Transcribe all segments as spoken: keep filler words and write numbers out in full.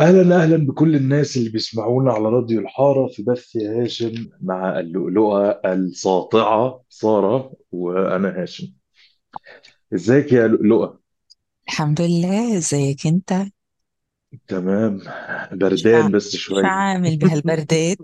أهلا أهلا بكل الناس اللي بيسمعونا على راديو الحارة في بث يا هاشم مع اللؤلؤة الساطعة سارة وأنا هاشم. إزيك يا لؤلؤة؟ الحمد لله، ازيك انت؟ تمام. شو بردان بس شو شوية. عامل بهالبردات؟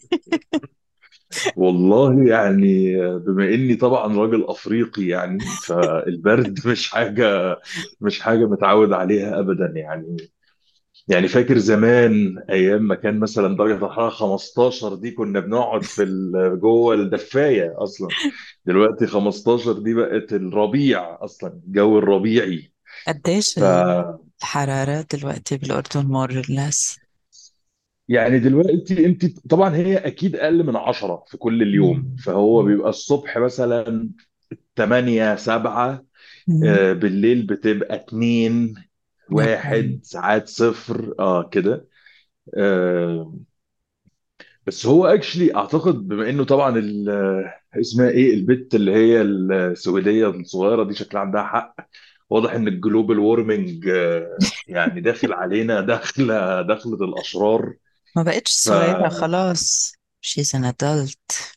والله يعني بما إني طبعا راجل أفريقي يعني فالبرد مش حاجة مش حاجة متعود عليها أبدا يعني. يعني فاكر زمان ايام ما كان مثلا درجه الحراره خمستاشر دي كنا بنقعد في ال- جوه الدفايه اصلا. دلوقتي خمستاشر دي بقت الربيع اصلا، الجو الربيعي. قديش ف الحرارة دلوقتي بالأردن مور لس؟ يعني دلوقتي انت طبعا هي اكيد اقل من عشرة في كل اليوم، فهو بيبقى الصبح مثلا تمانية سبعة. آه، بالليل بتبقى اتنين واحد ساعات صفر اه كده. آه، بس هو اكشلي اعتقد بما انه طبعا ال- اسمها ايه البت اللي هي السويديه الصغيره دي شكلها عندها حق. واضح ان الجلوبال وورمنج يعني داخل علينا داخله دخلة الاشرار. ما بقتش صغيرة ففعلا خلاص. she's an adult.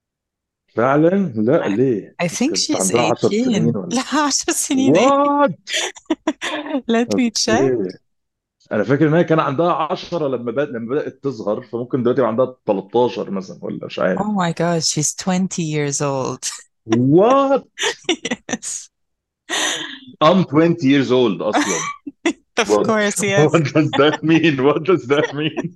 لا I ليه I think كانت she's عندها عشر سنين eighteen. ولا؟ لا، عشر سنين ايه؟ وات؟ let me check. اوكي. انا فاكر ان هي كان عندها عشرة لما بدأ لما بدأت تظهر، فممكن دلوقتي يبقى عندها تلتاشر مثلا ولا مش عارف. oh my god, she's twenty years old. وات؟ yes. I'm twenty years old اصلا. of What, course, yes. what does that mean? What does that mean?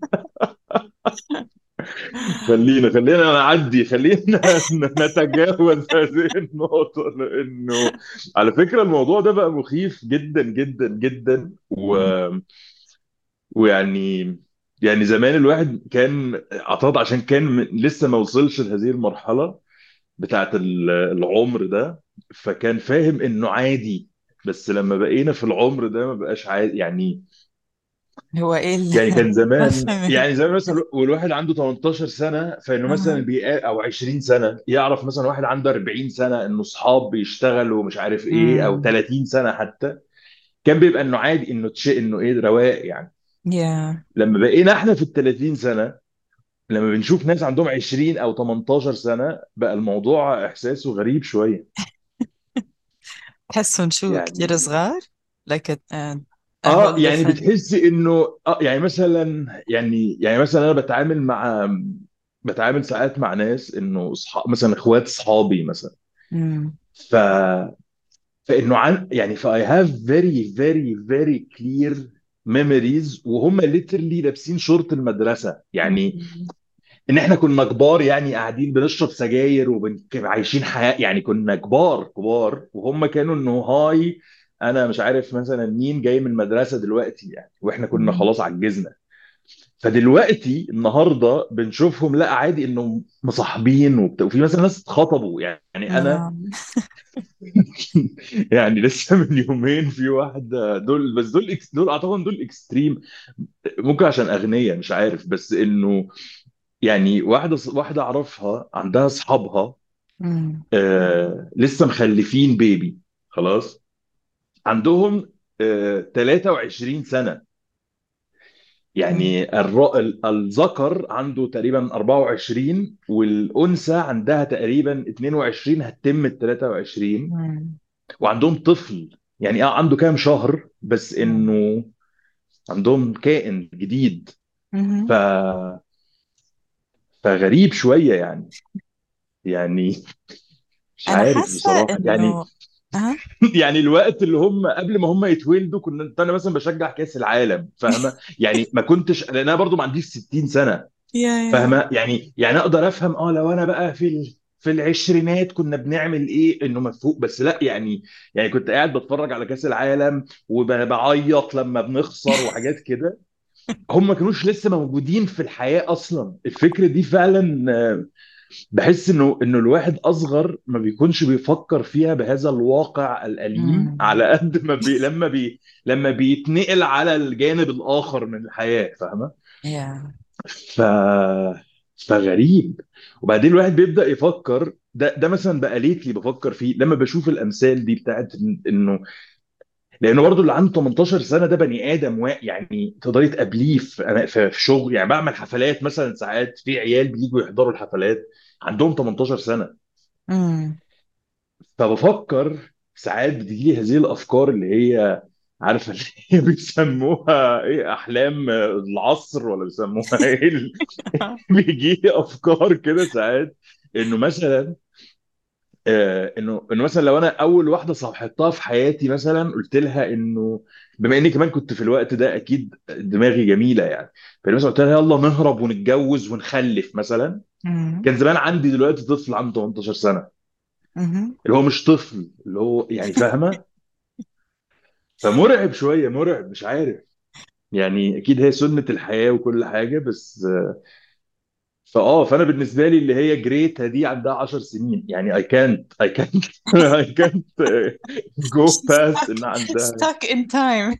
خلينا خلينا نعدي، خلينا نتجاوز هذه النقطة لأنه على فكرة الموضوع ده بقى مخيف جدا جدا جدا و... ويعني يعني زمان الواحد كان اعتقد عشان كان م- لسه ما وصلش لهذه المرحلة بتاعت ال- العمر ده، فكان فاهم انه عادي. بس لما بقينا في العمر ده ما بقاش عادي يعني. هو ايه اللي يعني كان ما زمان فهمت؟ يعني زمان مثلا والواحد عنده تمنتاشر سنة فإنه مثلا أها. بيقا أو عشرين سنة يعرف مثلا واحد عنده اربعين سنة إنه صحاب بيشتغلوا ومش عارف إيه، أو أمم. تلاتين سنة حتى. كان بيبقى إنه عادي إنه تشيء إنه إيه رواق يعني. yeah. لما بقينا إحنا في ال تلاتين سنة، لما بنشوف ناس عندهم عشرين أو تمنتاشر سنة بقى الموضوع إحساسه غريب شوية. تحسهم شو كتير يعني صغار؟ like a, a, a اه whole يعني different. بتحس انه اه يعني مثلا يعني يعني مثلا انا بتعامل مع بتعامل ساعات مع ناس انه اصحاب مثلا اخوات اصحابي مثلا. امم. ف فانه عن يعني ف I have very very very clear memories وهم literally لابسين شورت المدرسة يعني. أمم. ان احنا كنا كبار يعني قاعدين بنشرب سجاير وعايشين حياة، يعني كنا كبار كبار وهم كانوا انه هاي انا مش عارف مثلا مين جاي من المدرسة دلوقتي يعني، واحنا كنا أمم. خلاص عجزنا. فدلوقتي النهارده بنشوفهم لا عادي انهم مصاحبين وبتاع، وفي مثلا ناس اتخطبوا يعني انا. yeah. يعني لسه من يومين في واحده دول، بس دول إكس دول اعتقد دول اكستريم. ممكن عشان اغنياء مش عارف، بس انه يعني واحده واحده اعرفها عندها اصحابها أمم. آه لسه مخلفين بيبي خلاص. عندهم آه تلاتة وعشرين سنه. أمم. يعني الر... ال- الذكر عنده تقريبا اربعة وعشرين والأنثى عندها تقريبا اتنين وعشرين هتتم ال تلاتة وعشرين. أمم. وعندهم طفل يعني اه عنده كام شهر بس أمم. انه عندهم كائن جديد. ف... أمم. فغريب شوية يعني. يعني مش انا عارف حاسه بصراحة يعني. انه اه يعني الوقت اللي هم قبل ما هم يتولدوا كنا انا مثلا بشجع كأس العالم فاهمة يعني، ما كنتش لان انا برضو ما عنديش ستين سنة. يا يا فاهمه يعني يعني اقدر افهم اه لو انا بقى في ال... في العشرينات كنا بنعمل ايه انه مفهوم، بس لا يعني. يعني كنت قاعد بتفرج على كاس العالم وبعيط لما بنخسر وحاجات كده. هم ما كانوش لسه موجودين في الحياه اصلا. الفكره دي فعلا آه، بحس انه انه الواحد اصغر ما بيكونش بيفكر فيها بهذا الواقع الاليم أمم. على قد ما بي لما بي لما بيتنقل على الجانب الاخر من الحياه فاهمه. يا ف فغريب. وبعدين الواحد بيبدأ يفكر ده ده مثلا بقى ليتلي بفكر فيه لما بشوف الامثال دي بتاعت إن- انه لانه برضو اللي عنده تمنتاشر سنه ده بني ادم وا... يعني تقدري تقابليه في أنا- في في شغل، يعني بعمل حفلات مثلا، ساعات في عيال بييجوا يحضروا الحفلات عندهم تمنتاشر سنه. امم. فبفكر ساعات بتجي لي هذه الافكار اللي هي، عارفه اللي هي بيسموها ايه، احلام العصر ولا بيسموها ايه ال- بيجي لي افكار كده ساعات، انه مثلا آه، انه انه مثلا لو انا اول واحده صاحبتها في حياتي مثلا قلت لها انه، بما اني كمان كنت في الوقت ده اكيد دماغي جميله يعني، فانا مثلا قلت لها يلا نهرب ونتجوز ونخلف مثلا، امم. كان زمان عندي دلوقتي طفل عنده تمنتاشر سنه، امم. اللي هو مش طفل، اللي هو يعني فاهمه. فمرعب شويه، مرعب، مش عارف، يعني اكيد هي سنه الحياه وكل حاجه، بس فاه فانا بالنسبه لي اللي هي جريتا دي عندها عشر سنين، يعني اي كانت اي كانت اي كانت جو She's باست stuck ان عندها. stuck in time.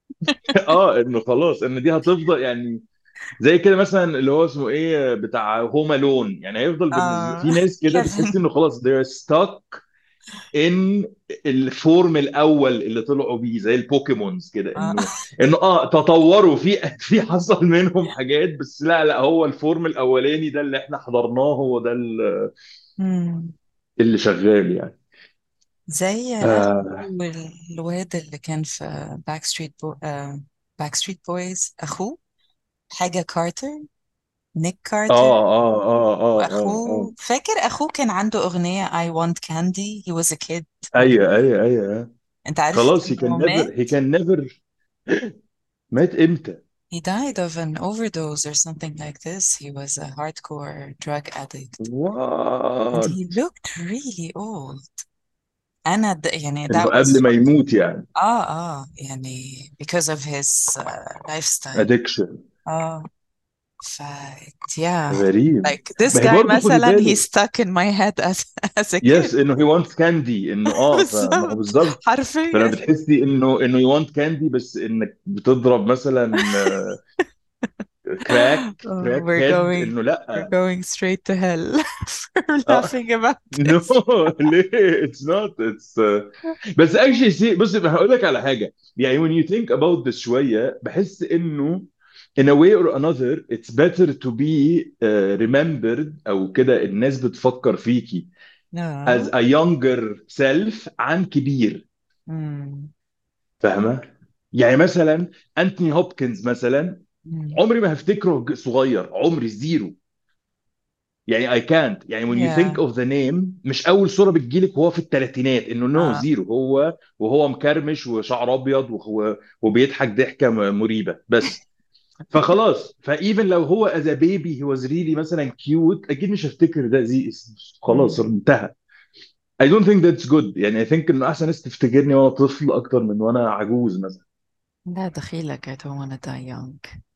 اه انه خلاص ان دي هتفضل يعني، زي كده مثلا اللي هو اسمه ايه بتاع هوم الون، يعني هيفضل بالنسبه آه في ناس كده بتحس كيفن. انه خلاص they're stuck ان الفورم الاول اللي طلعوا بيه زي البوكيمونز كده، آه. انه انه اه تطوروا في في حصل منهم حاجات، بس لا لا هو الفورم الاولاني ده اللي احنا حضرناه هو ده ال- مم. اللي شغال يعني. زي أخو اه الواد اللي كان في باك ستريت بو... باك ستريت بويز، أخوه حاجة كارتر، نيك كارتر. اه اه اه اه اه اه وأخوه، فاكر أخوه كان عنده أغنية I want candy he was a kid ولا؟ ايوه ايوه ايوه. أنت عارف خلاص he can إنه never مات؟ he can never مات امتى؟ He died of an overdose or something like this. He was a hardcore drug addict and وات؟ he looked really old. أنا د... يعني انه that قبل was ما يموت يعني. آه آه يعني because of his uh, lifestyle. ادكشن. آه ف yeah, غريب. like this ما هي guy برضه خدي مثلا he بالك، stuck in my head as as a kid. يس انه هي وانت كاندي، انه اه فما هو بالظبط، بالظبط. فلما حرفيا. بتحسي انه انه يو وانت كاندي، بس انك بتضرب مثلا كراك Oh, كراك we're هيد، going انه we're لا. going straight to hell for اه laughing about نو this. ليه اتس نوت اتس. بس اكشلي سي بص هقول لك على حاجه، يعني when you think about this شويه بحس انه in a way or another it's better to be uh, remembered او كده الناس بتفكر فيكي as No. a younger self عن كبير. Mm. فاهمه؟ يعني مثلا انتوني هوبكنز مثلا، Mm. عمري ما هفتكره ج- صغير، عمري زيرو، يعني اي كانت، يعني when you think Yeah. of the name مش اول صوره بتجيلك وهو في الثلاثينات انه نو Uh, زيرو، هو وهو مكرمش وشعر ابيض وهو وبيضحك ضحكه م- مريبه بس. فخلاص فايفن لو هو از بيبي هي واز ريلي مثلا كيوت، اكيد مش هفتكر ده زي، خلاص mm. انتهى. I don't think that's good، يعني I think انه احسن ناس تفتكرني وانا طفل اكتر من وانا عجوز مثلا. لا دخيلك I don't wanna die young.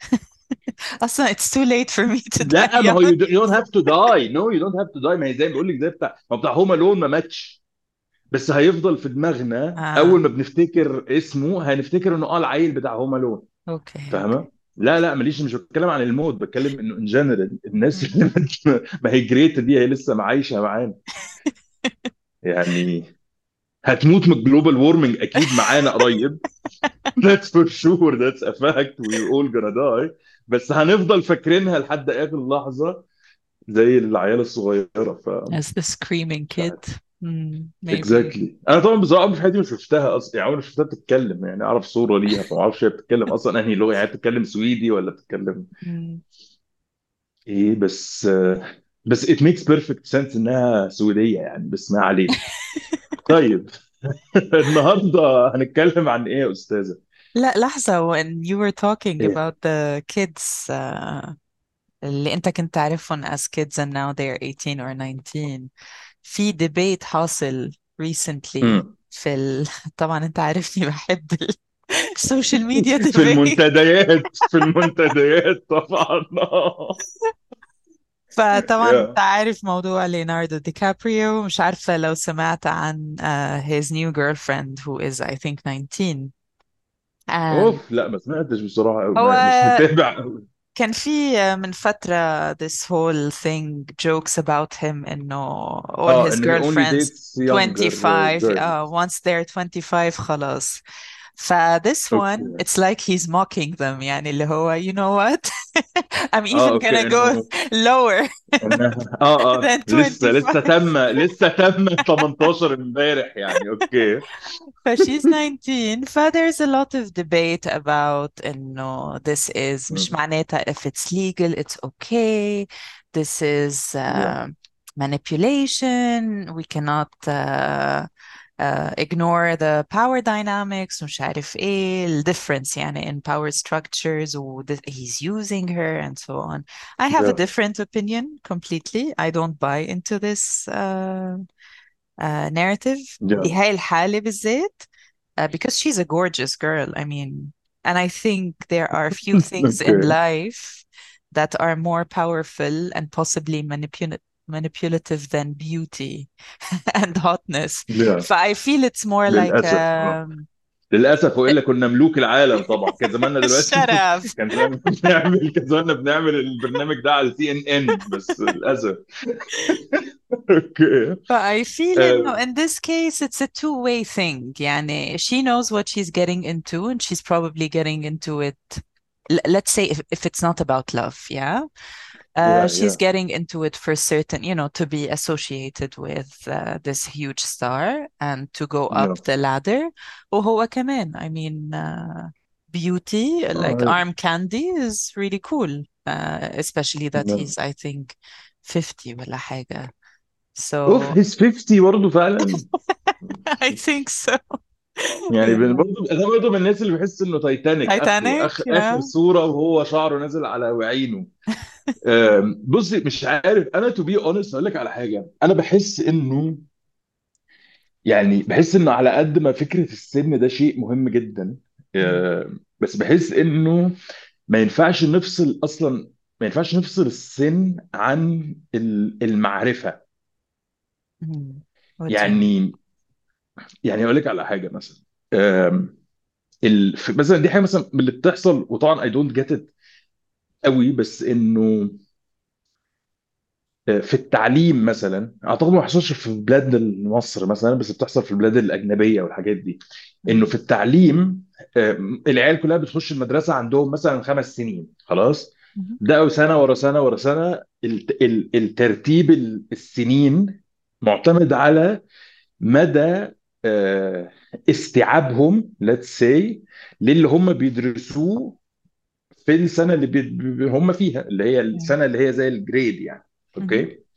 أصلا it's too late for me to die لا ما هو young. you don't you don't have to die, no you don't have to die، ما هي زي ما بقول لك زي بتاع ما هو بتاع هوم الون ما ماتش، بس هيفضل في دماغنا آه اول ما بنفتكر اسمه هنفتكر انه اه العيل بتاع هوم الون. أوكي فاهمه؟ أوكي. لا لا ماليش، مش بتكلم عن الموت، بتكلم انه ان جنرال الناس Mm. اللي ما هي جريتا دي هي لسه عايشه معانا يعني، هتموت من الجلوبال وورمنج اكيد معانا قريب. That's for sure, that's a fact, we're all gonna die. بس هنفضل فاكرينها لحد اخر لحظه زي العيال الصغيره. ف As the screaming مش kid. عارف. Mm, maybe. اكزاكتلي exactly. انا طبعا بصراحه عمري في حياتي ما شفتها اصلا، يعني عمري ما شفتها بتتكلم، يعني اعرف صوره ليها فما اعرفش هي بتتكلم اصلا انهي لغه، يعني بتتكلم سويدي ولا بتتكلم Mm. ايه، بس بس it makes perfect sense انها سويديه يعني، بس ما علينا. طيب النهارده هنتكلم عن ايه يا استاذه؟ لا لحظة when you were talking ايه؟ about the kids uh, اللي انت كنت تعرفهم as kids and now they're eighteen or nineteen، في debate حاصل recently مم. في ال... طبعا انت عارفني بحب السوشيال ميديا في debate. المنتديات في المنتديات طبعا فطبعا انت يا عارف موضوع ليوناردو دي كابريو، مش عارفة لو سمعت عن uh, his new girlfriend who is I think nineteen. and اوف لا ما سمعتش بصراحه قوي، هو مش متابع قوي. كان في من فترة this whole thing jokes about him إنه all اه his ان he only girlfriends dates younger twenty-five girls. uh, once they're twenty-five خلاص. ف this one اوكي. it's like he's mocking them يعني اللي هو you know what I'm اه even gonna اوكي go انه lower انها اه اه than لسه لسه twenty-five. تم لسه تم تمنتاشر امبارح يعني. اوكي. But she's nineteen. ف there's a lot of debate about إنه this is مش مم. معناتها if it's legal it's okay. This is Yeah. uh, manipulation. We cannot uh, uh, ignore the power dynamics ومش عارف إيه ال difference يعني in power structures و the, he's using her and so on. I have a Yeah. different opinion completely. I don't buy into this uh, uh, narrative Yeah. بهاي الحالة بالذات uh, because she's a gorgeous girl. I mean, and I think there are few things in اوكي. life that are more powerful and possibly manipul manipulative than beauty and hotness. Yeah. So I feel it's more like للاسف اه. um, للاسف، والا كنا ملوك العالم طبعا، كان زماننا دلوقتي shut up. كان زماننا بنعمل كان زماننا بنعمل البرنامج ده على سي ان ان، بس للاسف. اوكي. But I feel إنه آه، in this case it's a two-way thing. يعني she knows what she's getting into and she's probably getting into it. l- Let's say if, if it's not about love, yeah. Uh, يا she's يا getting into it for certain, you know, to be associated with uh, this huge star and to go up يا the ladder. وهو كمان, I mean, uh, beauty, like آه، arm candy is really cool, uh, especially that يا. he's, I think, fifty ولا حاجة. اوف، So هيز خمسين برضه فعلا. I think so. يعني بن- Yeah. برضه انا برضه من الناس اللي بحس انه تايتانيك اخره Titanic, اخر اخر yeah. صوره وهو شعره نازل على وعينه. آم، بصي مش عارف، انا تو بي اونست اقول لك على حاجه، انا بحس انه يعني بحس انه على قد ما فكره السن ده شيء مهم جدا، Mm, آم، بس بحس انه ما ينفعش نفصل اصلا، ما ينفعش نفصل السن عن ال- المعرفه. mm. What do you mean? يعني يعني اقول لك على حاجه مثلا، آم، ال... في- مثلا دي حاجه مثلا من اللي بتحصل، وطبعا اي دونت جيت ات قوي، بس انه في التعليم مثلا اعتقد ما بيحصلش في بلاد مصر مثلا، بس بتحصل في البلاد الاجنبيه والحاجات دي. انه Mm, في التعليم آه، العيال كلها بتخش المدرسه عندهم مثلا خمس سنين خلاص، mhm, ده سنه ورا سنه ورا سنه. الت- ال- الترتيب ال- السنين معتمد على مدى آه، استيعابهم let's say للي هم بيدرسوه في السنه اللي بي بي- هم فيها، اللي هي mm, السنه اللي هي زي الجريد يعني. mhm, اوكي.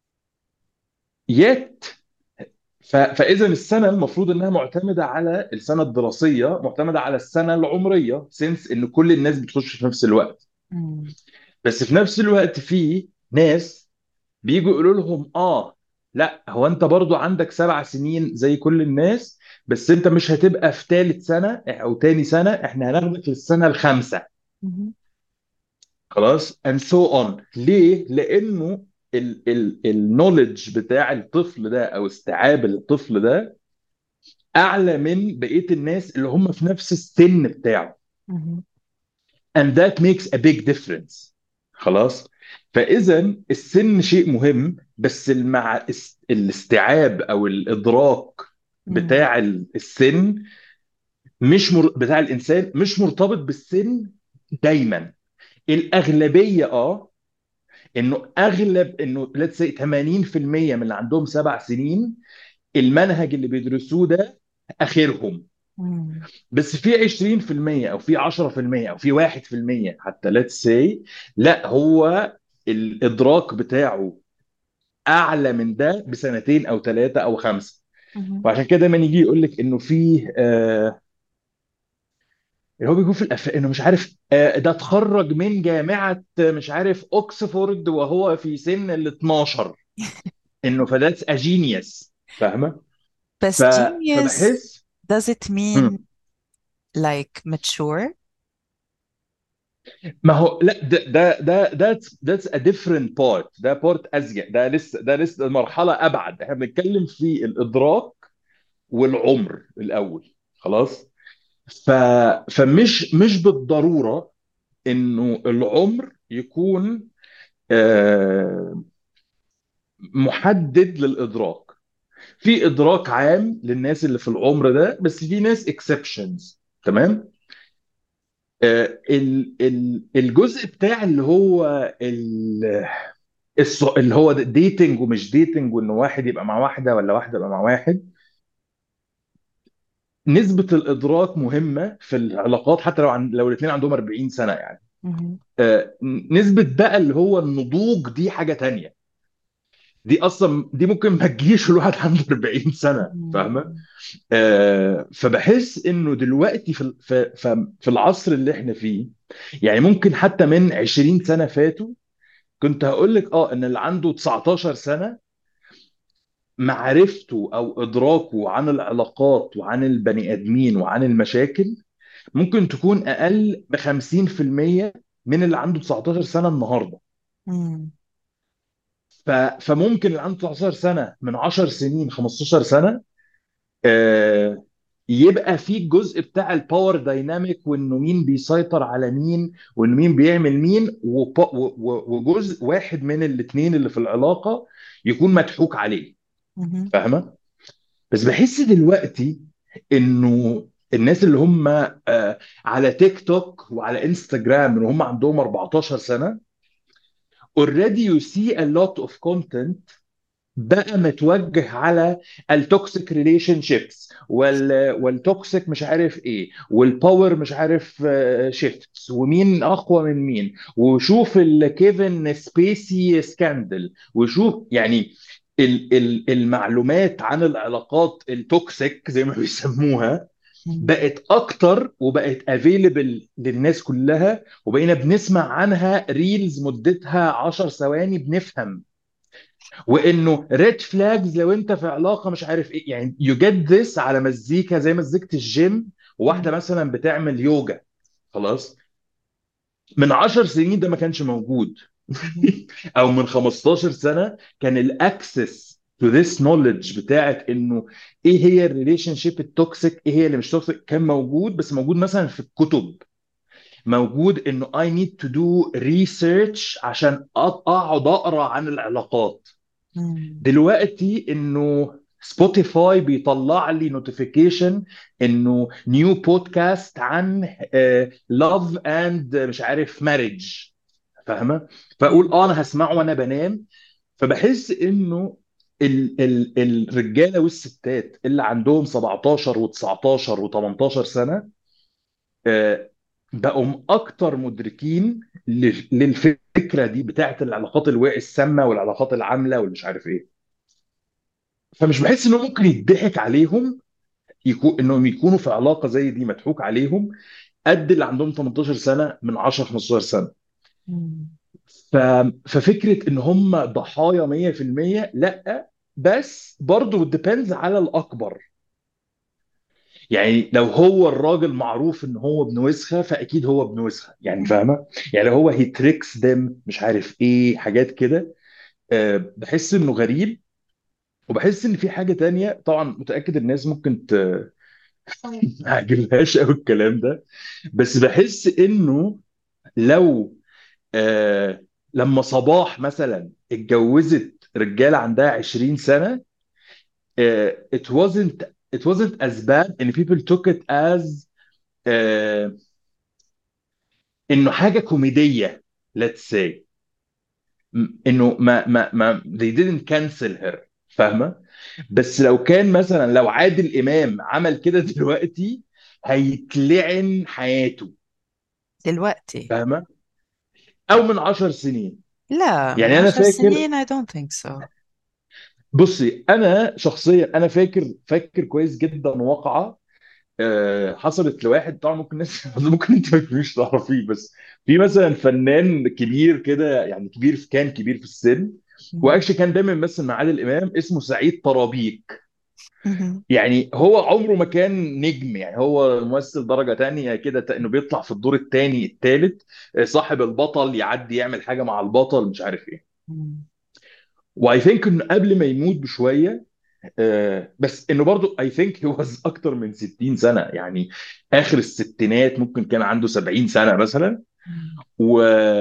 يت ف- فاذا السنه المفروض انها معتمده على السنه الدراسيه، معتمده على السنه العمريه، سنس ان كل الناس بتخش في نفس الوقت. mm, بس في نفس الوقت في ناس بيجوا يقولوا لهم اه لا، هو انت برضو عندك سبع سنين زي كل الناس، بس انت مش هتبقى في ثالث سنه او تاني سنه، احنا هناخدك للسنه الخامسه. mhm, خلاص and so on. ليه؟ لانه النولج بتاع الطفل ده او استيعاب الطفل ده اعلى من بقيه الناس اللي هم في نفس السن بتاعه. mhm, and that makes a big difference. خلاص. فاذا السن شيء مهم، بس المع... اس- الاستيعاب او الادراك mm, بتاع السن مش مر... بتاع الانسان مش مرتبط بالسن دايما. الاغلبيه اه، انه اغلب انه ليتس سي ثمانين في المية من اللي عندهم سبع سنين المنهج اللي بيدرسوه ده اخرهم. mm, بس في عشرين في المية او في عشرة في المية او في واحد في المية حتى ليتس سي لا، هو الادراك بتاعه اعلى من ده بسنتين او ثلاثه او خمسه. mhm. وعشان كده دايما يجي يقول لك انه في آه اللي هو بيقول في الأف... انه مش عارف آه ده اتخرج من جامعه آه، مش عارف اوكسفورد وهو في سن ال اتناشر، انه فذاتس ا جينيوس. فاهمه؟ ف... بس genius, فبحس does it mean like mature? ما هو لا، ده ده ده that's that's a different part، ده بارت ازيد، ده لسه ده لسه مرحله ابعد، احنا بنتكلم في الادراك والعمر الاول. خلاص. ف فمش مش بالضروره انه العمر يكون آه، محدد للادراك. في ادراك عام للناس اللي في العمر ده، بس في ناس exceptions. تمام. آه، ال- ال- الجزء بتاع اللي هو ال- الص- اللي هو ديتنج ومش ديتنج، وان واحد يبقى مع واحده ولا واحده يبقى مع واحد، نسبه الادراك مهمه في العلاقات حتى لو عن لو الاثنين عندهم أربعين سنه يعني. مهم. آه، نسبه بقى اللي هو النضوج دي حاجه تانية. دي اصلا دي ممكن ما تجيش الواحد عنده أربعين سنه، فاهمه؟ مم. آه، فبحس انه دلوقتي في ال- في في في العصر اللي احنا فيه، يعني ممكن حتى من عشرين سنه فاتوا كنت هقول لك اه ان اللي عنده تسعتاشر سنه معرفته او ادراكه عن العلاقات وعن البني ادمين وعن المشاكل ممكن تكون اقل ب خمسين في المية من اللي عنده تسعتاشر سنه النهارده. مم. ف- فممكن اللي عنده تسعتاشر سنه من عشر سنين خمستاشر سنه آه، يبقى في الجزء بتاع الباور دايناميك، وانه مين بيسيطر على مين وانه مين بيعمل مين، وب- و- و- وجزء واحد من الاثنين اللي في العلاقه يكون مضحوك عليه، مهم. فاهمه؟ بس بحس دلوقتي انه الناس اللي هم آه، على تيك توك وعلى انستجرام من هم عندهم أربعتاشر سنه already you see a lot of content بقى متوجه على التوكسيك ريليشن شيبس وال والتوكسيك مش عارف ايه والباور مش عارف شيفتس ومين اقوى من مين، وشوف الكيفن سبيسي سكاندل، وشوف يعني ال ال المعلومات عن العلاقات التوكسيك زي ما بيسموها مم. بقت اكتر وبقت افيلبل للناس كلها، وبقينا بنسمع عنها ريلز مدتها عشر ثواني بنفهم، وانه ريد فلاجز لو انت في علاقه مش عارف ايه، يعني يو جيت ذس على مزيكا زي مزيكه الجيم، وواحده مم. مثلا بتعمل يوجا. خلاص، من عشر سنين ده ما كانش موجود. مهم. او من خمستاشر سنه كان الاكسس تو ذس نوليدج بتاعت انه ايه هي الريليشن شيب التوكسيك ايه هي اللي مش توكسيك كان موجود، بس موجود مثلا في الكتب، موجود انه I need to do research عشان أق- اقعد اقرا عن العلاقات. مم. دلوقتي انه سبوتيفاي بيطلع لي نوتيفيكيشن انه نيو بودكاست عن لاف اند مش عارف ماريج، فاهمه؟ فاقول مم. اه انا هسمعه وانا بنام. فبحس انه ال ال الرجاله والستات اللي عندهم سبعتاشر و19 و18 سنه آه، بقوا اكتر مدركين لل- للفكره دي بتاعت العلاقات الواقع السامه والعلاقات العامله والمش عارف ايه. فمش بحس انه ممكن يضحك عليهم، يكون انهم يكونوا في علاقه زي دي مضحوك عليهم قد اللي عندهم تمنتاشر سنه من عشر خمستاشر سنه. مم. ف... ففكره ان هم ضحايا مية في المية لا، بس برضه ديبيندز على الاكبر. يعني لو هو الراجل معروف ان هو ابن وسخه فاكيد هو ابن وسخه، يعني مم. فاهمه؟ يعني لو هو هي تريكس ديم مش عارف ايه حاجات كده، أه بحس انه غريب. وبحس ان في حاجه تانية طبعا متاكد الناس ممكن ت... ما عجبهاش قوي الكلام ده، بس بحس انه لو آه لما صباح مثلا اتجوزت رجاله عندها عشرين سنه آه it wasn't it wasn't as bad and people took it as آه انه حاجه كوميديه. let's say م- انه ما ما ما they didn't cancel her، فاهمه؟ بس لو كان مثلا لو عادل امام عمل كده دلوقتي هيتلعن حياته، دلوقتي؟ فاهمه؟ او من عشر سنين. لا، من يعني انا عشر فاكر، سنين I don't think so. بصي انا شخصيا انا فاكر فاكر كويس جدا واقعه آه، حصلت لواحد. طبعا ممكن الناس ممكن انت ما تكونيش تعرفيه، بس في مثلا فنان كبير كده، يعني كبير في كان كبير في السن، مم. واكشلي كان دايما بيمثل مع عادل امام، اسمه سعيد طرابيك. مهم. يعني هو عمره ما كان نجم، يعني هو ممثل درجة تانية كده، ت- انه بيطلع في الدور التاني التالت، آه، صاحب البطل يعدي يعمل حاجة مع البطل مش عارف ايه. مم. واي ثينك انه قبل ما يموت بشوية آه، بس انه برضو اي ثينك هو اكتر من ستين سنة، يعني اخر الستينات ممكن كان عنده سبعين سنة مثلا. مم. و...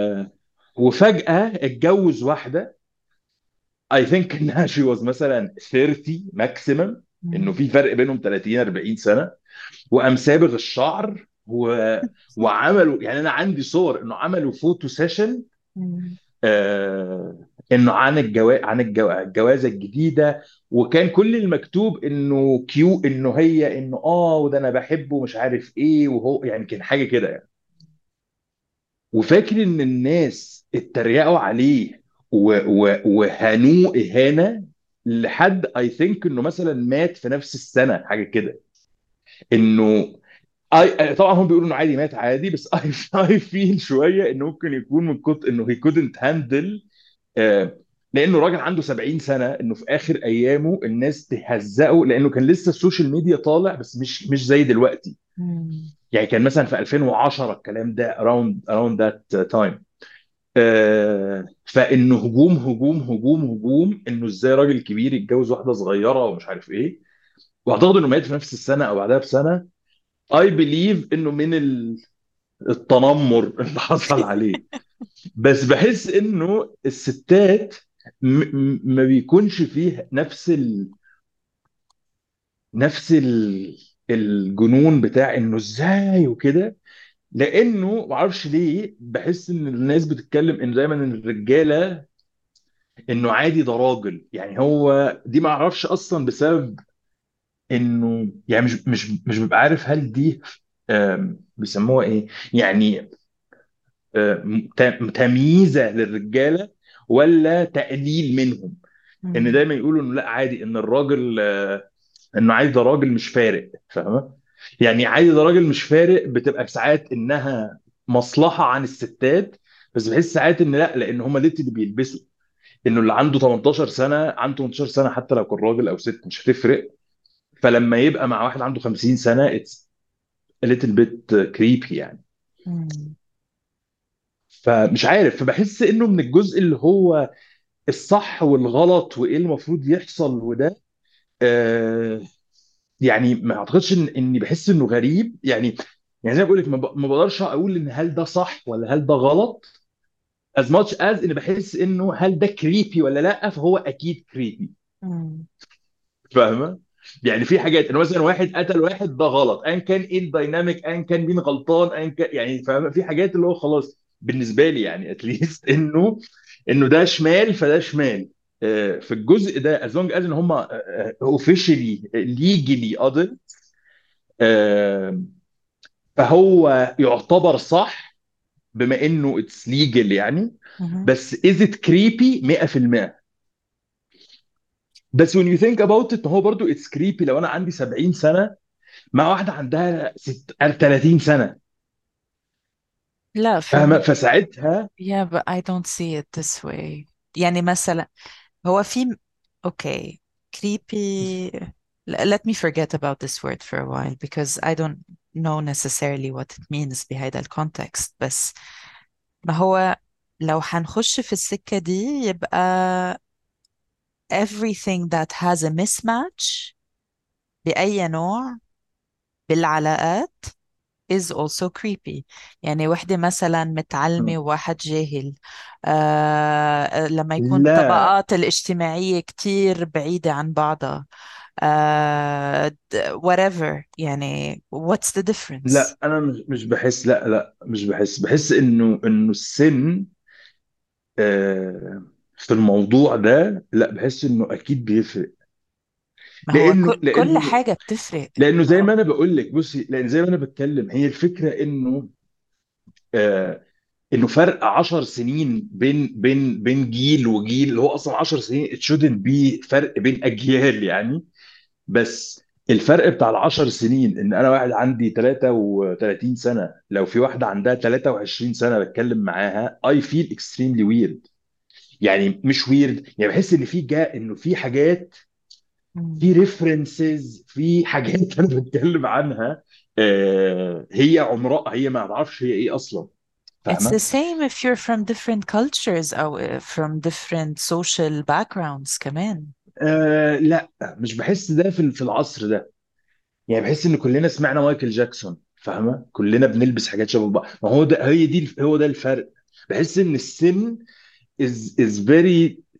وفجأة اتجوز واحدة اي ثينك انها شي واز مثلا ثلاثين ماكسيمم. انه مم. في فرق بينهم ثلاثين اربعين سنه، وقام صابغ الشعر و... وعملوا، يعني انا عندي صور انه عملوا فوتو سيشن مم. آه انه عن الجواز، عن الجو... الجوازه الجديده، وكان كل المكتوب انه كيو، انه هي انه اه وده انا بحبه مش عارف ايه، وهو يعني كان حاجه كده يعني. وفاكر ان الناس اتريقوا عليه و... و... وهانوه اهانه لحد اي ثينك انه مثلا مات في نفس السنه حاجه كده. انه اي طبعا هم بيقولوا انه عادي مات عادي، بس اي اي فيل شويه انه ممكن يكون من كتر انه هي كودنت هاندل، لانه راجل عنده سبعين سنه، انه في اخر ايامه الناس تهزقه، لانه كان لسه السوشيال ميديا طالع بس مش مش زي دلوقتي. مم. يعني كان مثلا في ألفين وعشرة الكلام ده around around that time. فانه هجوم هجوم هجوم هجوم، انه ازاي راجل كبير يتجوز واحده صغيره ومش عارف ايه. واعتقد انه مات في نفس السنه او بعدها بسنه. اي بليف انه من ال- التنمر اللي حصل عليه. بس بحس انه الستات م- م- ما بيكونش فيه نفس ال... نفس ال... الجنون بتاع انه ازاي وكده. لانه معرفش ليه بحس ان الناس بتتكلم انه دايما ان الرجاله انه عادي ده راجل، يعني هو دي ما اعرفش اصلا بسبب انه يعني مش مش مش ببقى عارف هل دي آم، بيسموها ايه يعني، آم، ت- تمييزه للرجاله ولا تقليل منهم. ان مم. دايما يقولوا انه لا عادي ان الراجل آه، انه عادي ده راجل مش فارق، فاهمه؟ يعني عادي ده راجل مش فارق بتبقى ساعات انها مصلحه عن الستات. بس بحس ساعات ان لا، لان هم اللي اللي بيلبسوا، انه اللي عنده تمنتاشر سنه عنده تمنتاشر سنه حتى لو كان راجل او ست مش هتفرق. فلما يبقى مع واحد عنده خمسين سنه اتس a little bit creepy يعني. مم. فمش عارف، فبحس انه من الجزء اللي هو الصح والغلط وايه المفروض يحصل وده، آه يعني ما اعتقدش ان اني بحس انه غريب يعني. يعني زي ما بقول لك ما ب- ما بقدرش اقول ان هل ده صح ولا هل ده غلط as much as ان بحس انه هل ده كريبي ولا لا، فهو اكيد كريبي. مم. فاهمه؟ يعني في حاجات انه مثلا واحد قتل واحد ده غلط، ايا كان ايه الدايناميك، ايا كان مين غلطان، ايا كان يعني، فاهمه؟ في حاجات اللي هو خلاص بالنسبه لي يعني اتليست انه انه ده شمال فده شمال. آه، في الجزء ده as long as ان هم اوفيشلي ليجلي adult، آه، فهو يعتبر صح بما انه اتس ليجل يعني. مم. بس is it creepy مية في المية. بس when you think about it هو برضو it's creepy لو انا عندي سبعين سنة مع واحدة عندها ست ثلاثين سنة. لا for فاهمة؟ me فساعتها yeah but I don't see it this way. يعني مثلا هو في okay creepy. Let me forget about this word for a while because I don't know necessarily what it means بهذا الكونتكست. بس ما هو لو هنخش في السكة دي يبقى everything that has a mismatch بأي نوع بالعلاقات is also creepy. يعني وحدة مثلا متعلمة وواحد جاهل، آه لما يكون لا الطبقات الاجتماعية كتير بعيدة عن بعضها، آه د- whatever يعني what's the difference. لا انا مش مش بحس، لا لا مش بحس، بحس انه انه السن آه، في الموضوع ده لا، بحس انه اكيد بيفرق. ما هو كل لانه كل لانه حاجة بتفرق. لانه ما زي هو ما انا بقول لك بصي، لان زي ما انا بتكلم هي الفكره انه آه انه فرق عشر سنين بين بين بين جيل وجيل، اللي هو اصلا عشر سنين it shouldn't be فرق بين اجيال يعني. بس الفرق بتاع العشر سنين ان انا واحد عندي ثلاثة وثلاثين سنه لو في واحده عندها ثلاثة وعشرين سنه بتكلم معاها I feel extremely weird. يعني مش weird، يعني بحس ان في جا انه في حاجات، مم. في ريفرنسز، في حاجات انا بتكلم عنها آه هي عمرها هي ما اعرفش هي ايه اصلا. It's the فاهمه؟ same if you're from different cultures أو from different social backgrounds كمان. آه لا مش بحس ده في في العصر ده. يعني بحس ان كلنا سمعنا مايكل جاكسون، فاهمه؟ كلنا بنلبس حاجات شبه بعض، ما هو ده هي دي هو ده الفرق. بحس ان السن is is very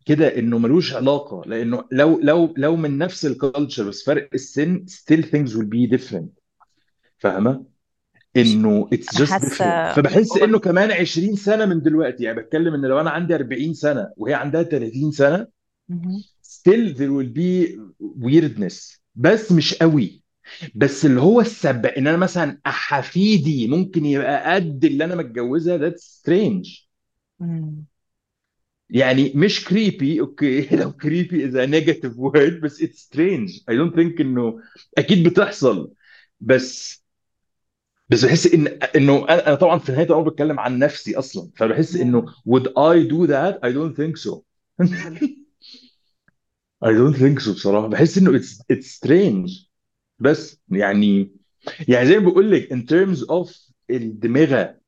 كده انه ملوش علاقه، لانه لو لو لو من نفس الكالتشر بس فرق السن still things will be different. فاهمه؟ مش انه it's أنا just different. حاسة فبحس over. انه كمان عشرين سنه من دلوقتي، يعني بتكلم ان لو انا عندي أربعين سنه وهي عندها ثلاثين سنه مهم. still there will be weirdness، بس مش قوي. بس اللي هو السبب ان انا مثلا حفيدي ممكن يبقى قد اللي انا متجوزها، that's strange. مم. يعني مش creepy، اوكي لو creepy is a negative word، بس it's strange. I don't think انه اكيد بتحصل. بس بس بحس ان انه انا أنا طبعا في نهايه الامر بتكلم عن نفسي اصلا، فبحس انه Yeah. would I do that. I don't think so. I don't think so بصراحه. بحس انه it's it's strange. بس يعني يعني زي ما بقول لك in terms of الدماغه،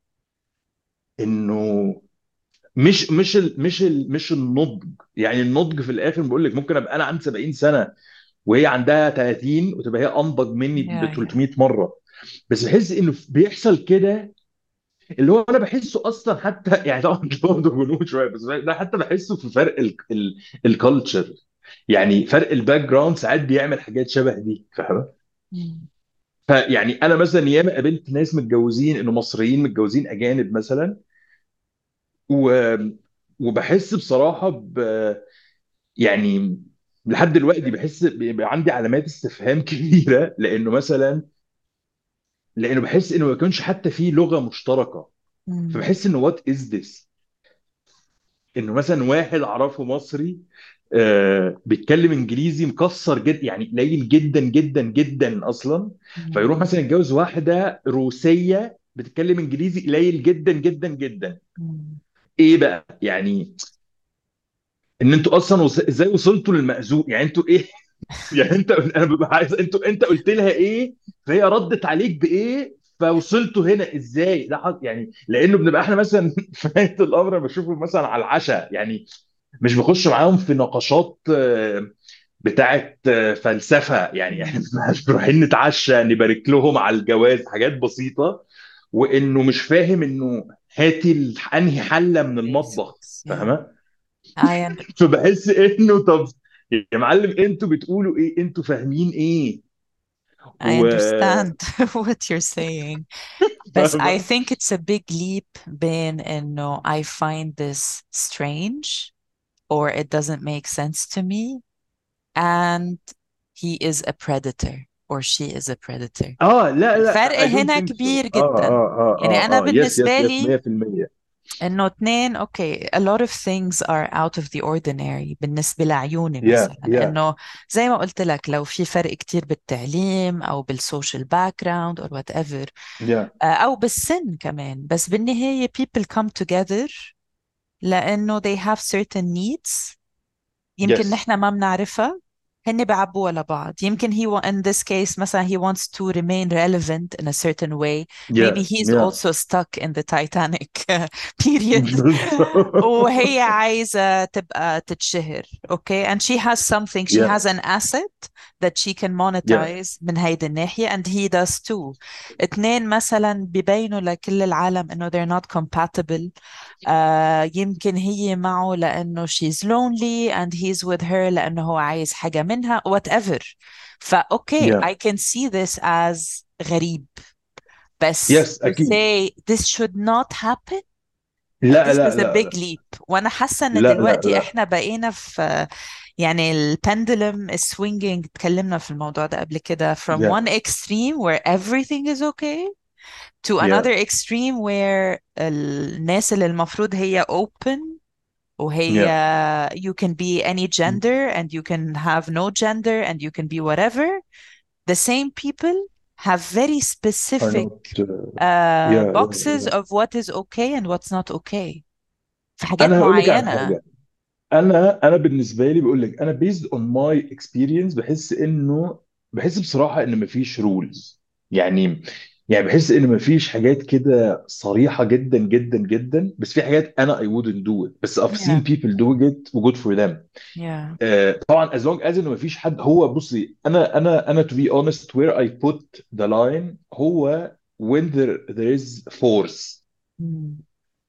انه مش مش ال مش ال مش النضج. يعني النضج في الاخر بقول لك ممكن ابقى انا عندي سبعين سنه وهي عندها ثلاثين وتبقى هي انضج مني ب Yeah, yeah. ثلاثمية مره. بس بحس انه بيحصل كده، اللي هو انا بحسه اصلا حتى يعني طبعا برضه جنون شويه، بس ده حتى بحسه في فرق الكالتشر. يعني فرق الباك جراوند ساعات بيعمل حاجات شبه دي، فاهم؟ مم. فيعني انا مثلا ياما قابلت ناس متجوزين انه مصريين متجوزين اجانب مثلا، و... وبحس بصراحه ب... يعني لحد دلوقتي بحس بيبقى عندي علامات استفهام كبيره، لانه مثلا لانه بحس انه ما يكونش حتى في لغه مشتركه. مم. فبحس انه وات از ذس، انه مثلا واحد اعرفه مصري آه بيتكلم انجليزي مكسر جدا، يعني قليل جدا جدا جدا اصلا. مم. فيروح مثلا يتجوز واحده روسيه بتتكلم انجليزي قليل جدا جدا جدا. مم. ايه بقى يعني؟ ان انتوا اصلا وص... ازاي وصلتوا للمأذون؟ يعني انتوا ايه؟ يعني انت انا ببقى عايز انتوا انت قلت لها ايه فهي ردت عليك بايه فوصلتوا هنا ازاي؟ ده حظ- يعني لانه بنبقى احنا مثلا في نهايه الامر بشوفه مثلا على العشاء، يعني مش بخش معاهم في نقاشات آه، بتاعت آه، فلسفه. يعني احنا مم. مش رايحين نتعشى نبارك لهم على الجواز، حاجات بسيطه. وانه مش فاهم انه هاتي ال- انهي حله من المطبخ، Basics. Yeah. فاهمه؟ I under فبحس انه طب يا معلم انتوا بتقولوا ايه؟ انتوا فاهمين ايه؟ I و understand what you're saying. But I فاهمه؟ think it's a big leap بين إنه I find this strange or it doesn't make sense to me and he is a predator or she is a predator. اه لا الفرق لا I don't هنا think so. كبير اه جدا. اه اه يعني أنا اه اه يس بالنسبة يس يس لي مية في المية. إنه اتنين أوكي a lot of things are out of the ordinary بالنسبة لعيوني يا مثلا يا إنه زي ما قلت لك لو في فرق كتير بالتعليم أو بالسوشيال باك جراوند or whatever يا آه، أو بالسن كمان بس بالنهاية people come together لأنه they have certain needs يمكن يس نحن ما بنعرفها هن بيعبوا لبعض يمكن he wa- in this case مثلا he wants to remain relevant in a certain way maybe يا he's يا also stuck in the Titanic period بالظبط. وهي عايزة تبقى تتشهر okay and she has something she يا has an asset that she can يا monetize من هيدي الناحية and he does too اتنين مثلا ببينوا لكل العالم انه they're not compatible آه يمكن هي معه لأنه she's lonely and he's with her لأنه هو عايز حاجة منها whatever فأوكي يا I can see this as غريب بس يس to اكيد. say this should not happen لا this لا is a لا big لا leap وأنا حاسة إن لا لا دلوقتي لا إحنا بقينا في يعني البندلم is swinging اتكلمنا في الموضوع ده قبل كده from يا one extreme where everything is okay to يا another extreme where الناس اللي المفروض هي open وهي يا you can be any gender and you can have no gender and you can be whatever the same people have very are specific not uh, يا يا boxes يا of what is okay and what's not okay في حاجات انا هقول لك على معينة. حاجه. انا انا بالنسبه لي بقول لك انا based on my experience بحس انه بحس بصراحه ان مفيش رولز. يعني يعني بحس ان مفيش حاجات كده صريحه جدا جدا جدا، بس في حاجات انا I wouldn't do it بس I've Yeah, seen people doing it و good for them. yeah. آه، طبعا as long as انه مفيش حد. هو بصي انا انا انا to be honest where I put the line هو when there there is force. Mm.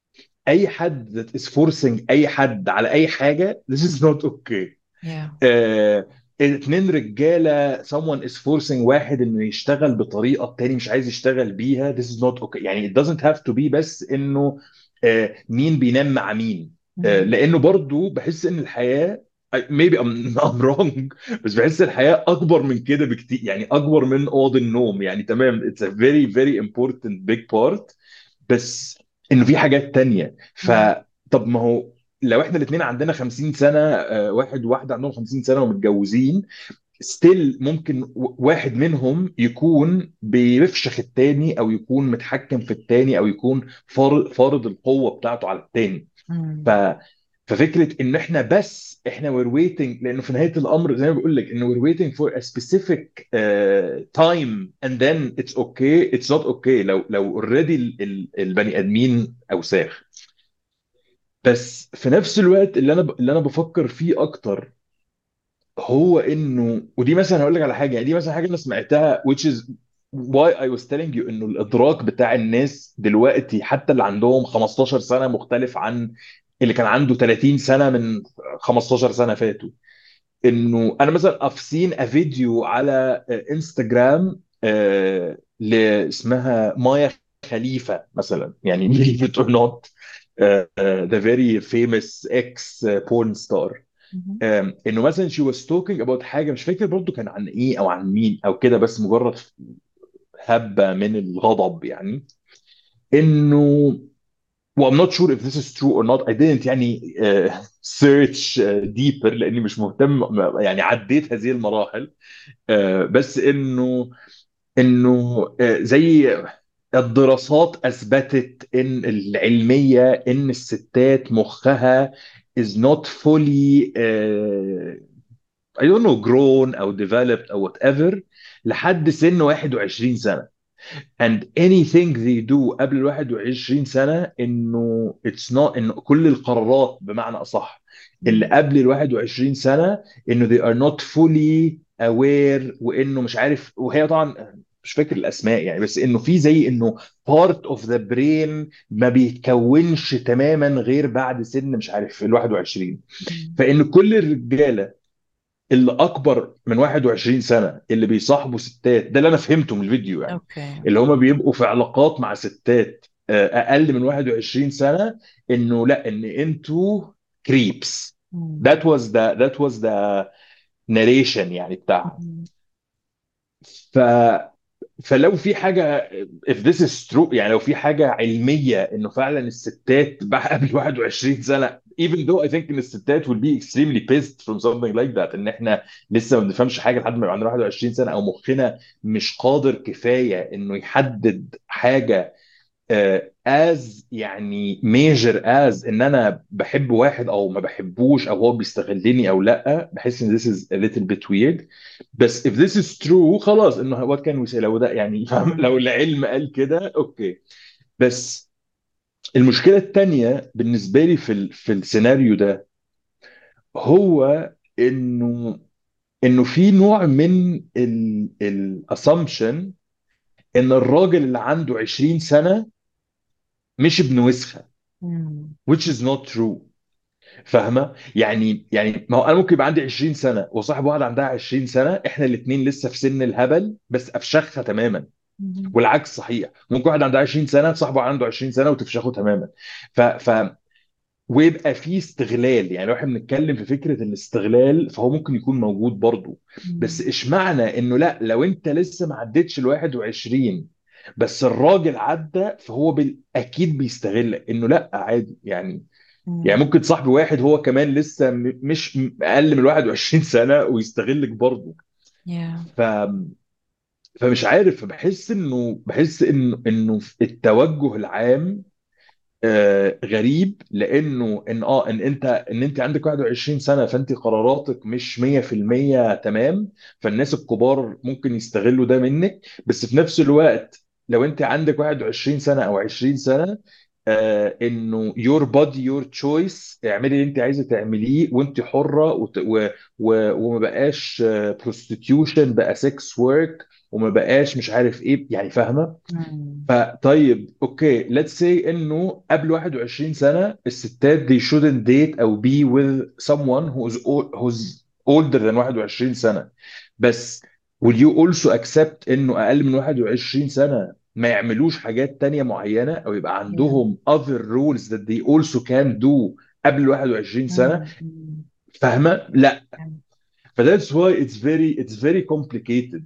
اي حد that is forcing اي حد على اي حاجه this is not okay. yeah. آه، اتنين رجاله someone is forcing واحد انه يشتغل بطريقه التاني مش عايز يشتغل بيها this is not okay. يعني it doesn't have to be بس انه آه، مين بينام مع مين. آه، مم. لانه برضو بحس ان الحياه maybe I'm, I'm wrong بس بحس الحياه اكبر من كده بكتير، يعني اكبر من اوض النوم. يعني تمام it's a very very important big part، بس انه في حاجات تانية. مم. فطب ما هو لو احنا الاثنين عندنا خمسين سنة، آه، واحد وواحدة عندهم خمسين سنة ومتجوزين، ستيل ممكن و- واحد منهم يكون بيفشخ التاني او يكون متحكم في التاني او يكون فار- فارض القوة بتاعته على التاني. ف مم. ففكره ان احنا بس احنا we're waiting، لانه في نهايه الامر زي ما بقول لك انه we're waiting for a specific uh, time and then it's okay it's not okay لو لو already ال- ال- البني ادمين اوساخ. بس في نفس الوقت اللي انا ب- اللي انا بفكر فيه اكتر هو انه، ودي مثلا هقول لك على حاجه، يعني دي مثلا حاجه انا سمعتها which is why I was telling you انه الادراك بتاع الناس دلوقتي حتى اللي عندهم خمستاشر سنه مختلف عن اللي كان عنده ثلاثين سنه من خمستاشر سنه فاتوا. انه انا مثلا I've seen a فيديو على انستغرام آه، ل- اسمها مايا خليفه مثلا، يعني believe it or not uh, uh, the very famous ex porn star. مم. آم، انه مثلا she was talking about حاجه مش فاكر برضو كان عن ايه او عن مين او كده، بس مجرد هبه من الغضب يعني. انه و I'm not sure if this is true or not I didn't يعني uh, search uh, deeper لاني مش مهتم، يعني عديت هذه المراحل. آه، بس انه انه آه، زي الدراسات اثبتت ان العلميه ان الستات مخها is not fully uh, I don't know grown او developed او whatever لحد سن واحد وعشرين سنة. and anything they do قبل ال واحد وعشرين سنة انه it's not انه كل القرارات بمعنى اصح اللي مم. قبل ال واحد وعشرين سنة انه they are not fully aware، وانه مش عارف، وهي طبعا مش فاكر الاسماء يعني، بس انه في زي انه part of the brain ما بيتكونش تماما غير بعد سن مش عارف ال واحد وعشرين. مم. فان كل الرجاله اللي اكبر من واحد وعشرين سنه اللي بيصاحبوا ستات، ده اللي انا فهمته من الفيديو يعني، اوكي. اللي هم بيبقوا في علاقات مع ستات آه، اقل من واحد وعشرين سنه، انه لا ان انتوا كريبس. مم. that was the that was the narration يعني بتاعها. مم. ف فلو في حاجه if this is true، يعني لو في حاجه علميه انه فعلا الستات بقى قبل واحد وعشرين سنه even though I think ان الستات will be extremely pissed from something like that، ان احنا لسه ما بنفهمش حاجه لحد ما يبقى عندنا واحد وعشرين سنه او مخنا مش قادر كفايه انه يحدد حاجه آه، as يعني major as ان انا بحب واحد او ما بحبوش او هو بيستغلني او لا. بحس ان this is a little bit weird. بس if this is true خلاص انه what can we say، لو ده يعني فاهم، مم. لو العلم قال كده اوكي. بس المشكلة التانية بالنسبة لي في ال في السيناريو ده هو انه انه في نوع من ال الاسامبشن ان الراجل اللي عنده عشرين سنة مش ابن وسخة، مم. which is not true. فاهمه؟ يعني يعني ما هو انا ممكن يبقى عندي عشرين سنه وصاحب واحده عندها عشرين سنه، احنا الاثنين لسه في سن الهبل بس افشخها تماما. مم. والعكس صحيح، ممكن واحد عنده عشرين سنه صاحبه عنده عشرين سنه وتفشخه تماما. ف ف ويبقى في استغلال. يعني لو احنا بنتكلم في فكره الاستغلال فهو ممكن يكون موجود برضه. بس مم. اشمعنى انه لا لو انت لسه ما عدتش ال واحد وعشرين بس الراجل عدى فهو بال... اكيد بيستغلك، انه لا عادي يعني. يعني مم. ممكن صاحبي واحد هو كمان لسه م- مش م- اقل من واحد وعشرين سنه ويستغلك برضه. yeah. ف فمش عارف، بحس انه بحس انه انه التوجه العام آه غريب، لانه ان اه ان انت ان انت عندك واحد وعشرين سنه فانت قراراتك مش مية في المية تمام، فالناس الكبار ممكن يستغلوا ده منك. بس في نفس الوقت لو انت عندك واحد وعشرين سنه او عشرين سنه آه انه your body your choice، اعملي اللي انت عايزه تعمليه وانت حره، وت... و... و... وما بقاش prostitution، بقى sex work، وما بقاش مش عارف ايه، يعني فاهمه. مم. فطيب اوكي let's say انه قبل واحد وعشرين سنه الستات they shouldn't date او be with someone who's o- who's older than واحد وعشرين سنه، بس will you also accept انه اقل من واحد وعشرين سنه ما يعملوش حاجات تانية معينه، او يبقى Yeah. عندهم other rules that they also can do قبل واحد وعشرين سنه؟ مم. مم. فاهمه؟ لا. Yeah. فذاتس واي اتس فيري اتس فيري كومبليكيتد،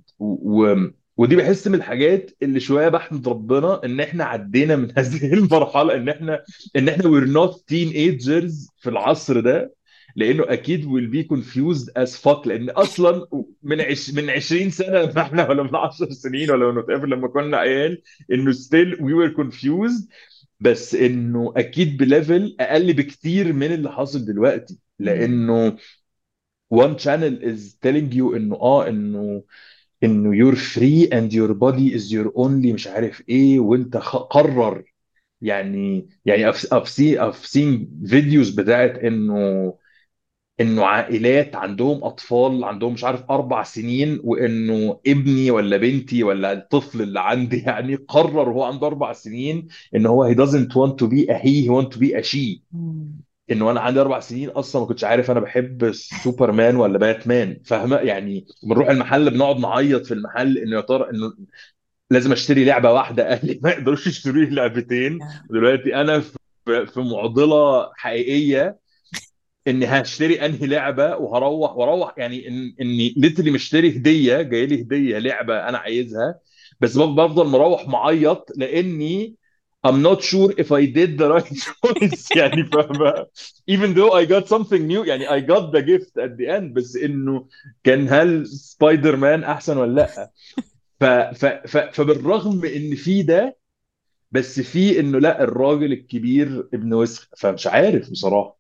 ودي بحس من الحاجات اللي شويه بحمد ربنا ان احنا عدينا من هذه المرحله، ان احنا ان احنا we're not teenagers في العصر ده، لانه اكيد will be confused as fuck، لان اصلا من عش من عشرين سنه ما احنا، ولا من عشر سنين، ولا من whatever لما كنا عيال، انه still we were confused، بس انه اكيد بليفل اقل بكتير من اللي حاصل دلوقتي، مم. لانه one channel is telling you انه اه انه انه you're free and your body is your only مش عارف ايه، وانت خ- قرر. يعني يعني I've, I've seen I've seen videos بتاعت انه انه عائلات عندهم اطفال عندهم مش عارف اربع سنين، وانه ابني ولا بنتي ولا الطفل اللي عندي يعني قرر وهو عنده اربع سنين ان هو he doesn't want to be a he he want to be a she. مم. انه انا عندي اربع سنين اصلا ما كنتش عارف انا بحب سوبرمان ولا باتمان، فاهمه؟ يعني بنروح المحل بنقعد نعيط في المحل انه يا ترى انه لازم اشتري لعبه واحده، اهلي ما يقدروش يشتروا لي لعبتين. Yeah. ودلوقتي انا في في معضله حقيقيه اني هشتري انهي لعبه، وهروح واروح يعني إن اني ليتلي مشتري هديه، جاي لي هديه لعبه انا عايزها، بس بف- بفضل مروح معيط لاني I'm not sure if I did the right choice يعني فاهمة؟ even though I got something new، يعني I got the gift at the end، بس انه كان هل سبايدر مان احسن ولا لا؟ ف ف ف فبالرغم ان في ده، بس في انه لا، الراجل الكبير ابن وسخ، فمش عارف بصراحة.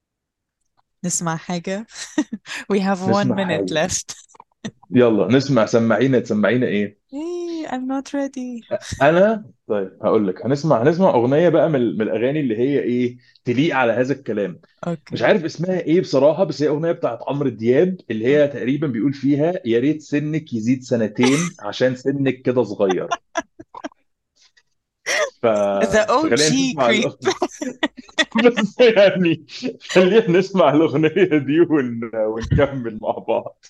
نسمع حاجة. We have one نسمع minute حاجة. left. يلا نسمع، سمعينا تسمعينا ايه؟ Hey, I'm not ready. انا طيب هقول لك، هنسمع هنسمع اغنيه بقى من, من الاغاني اللي هي ايه تليق على هذا الكلام. مش Okay. عارف اسمها ايه بصراحه، بس هي اغنيه بتاعت عمرو دياب اللي هي تقريبا بيقول فيها يا ريت سنك يزيد سنتين عشان سنك كده صغير. ف... The فخلينا O G نسمع creep. الاغنيه. بس يعني خلينا نسمع الاغنيه دي ون... ونكمل مع بعض.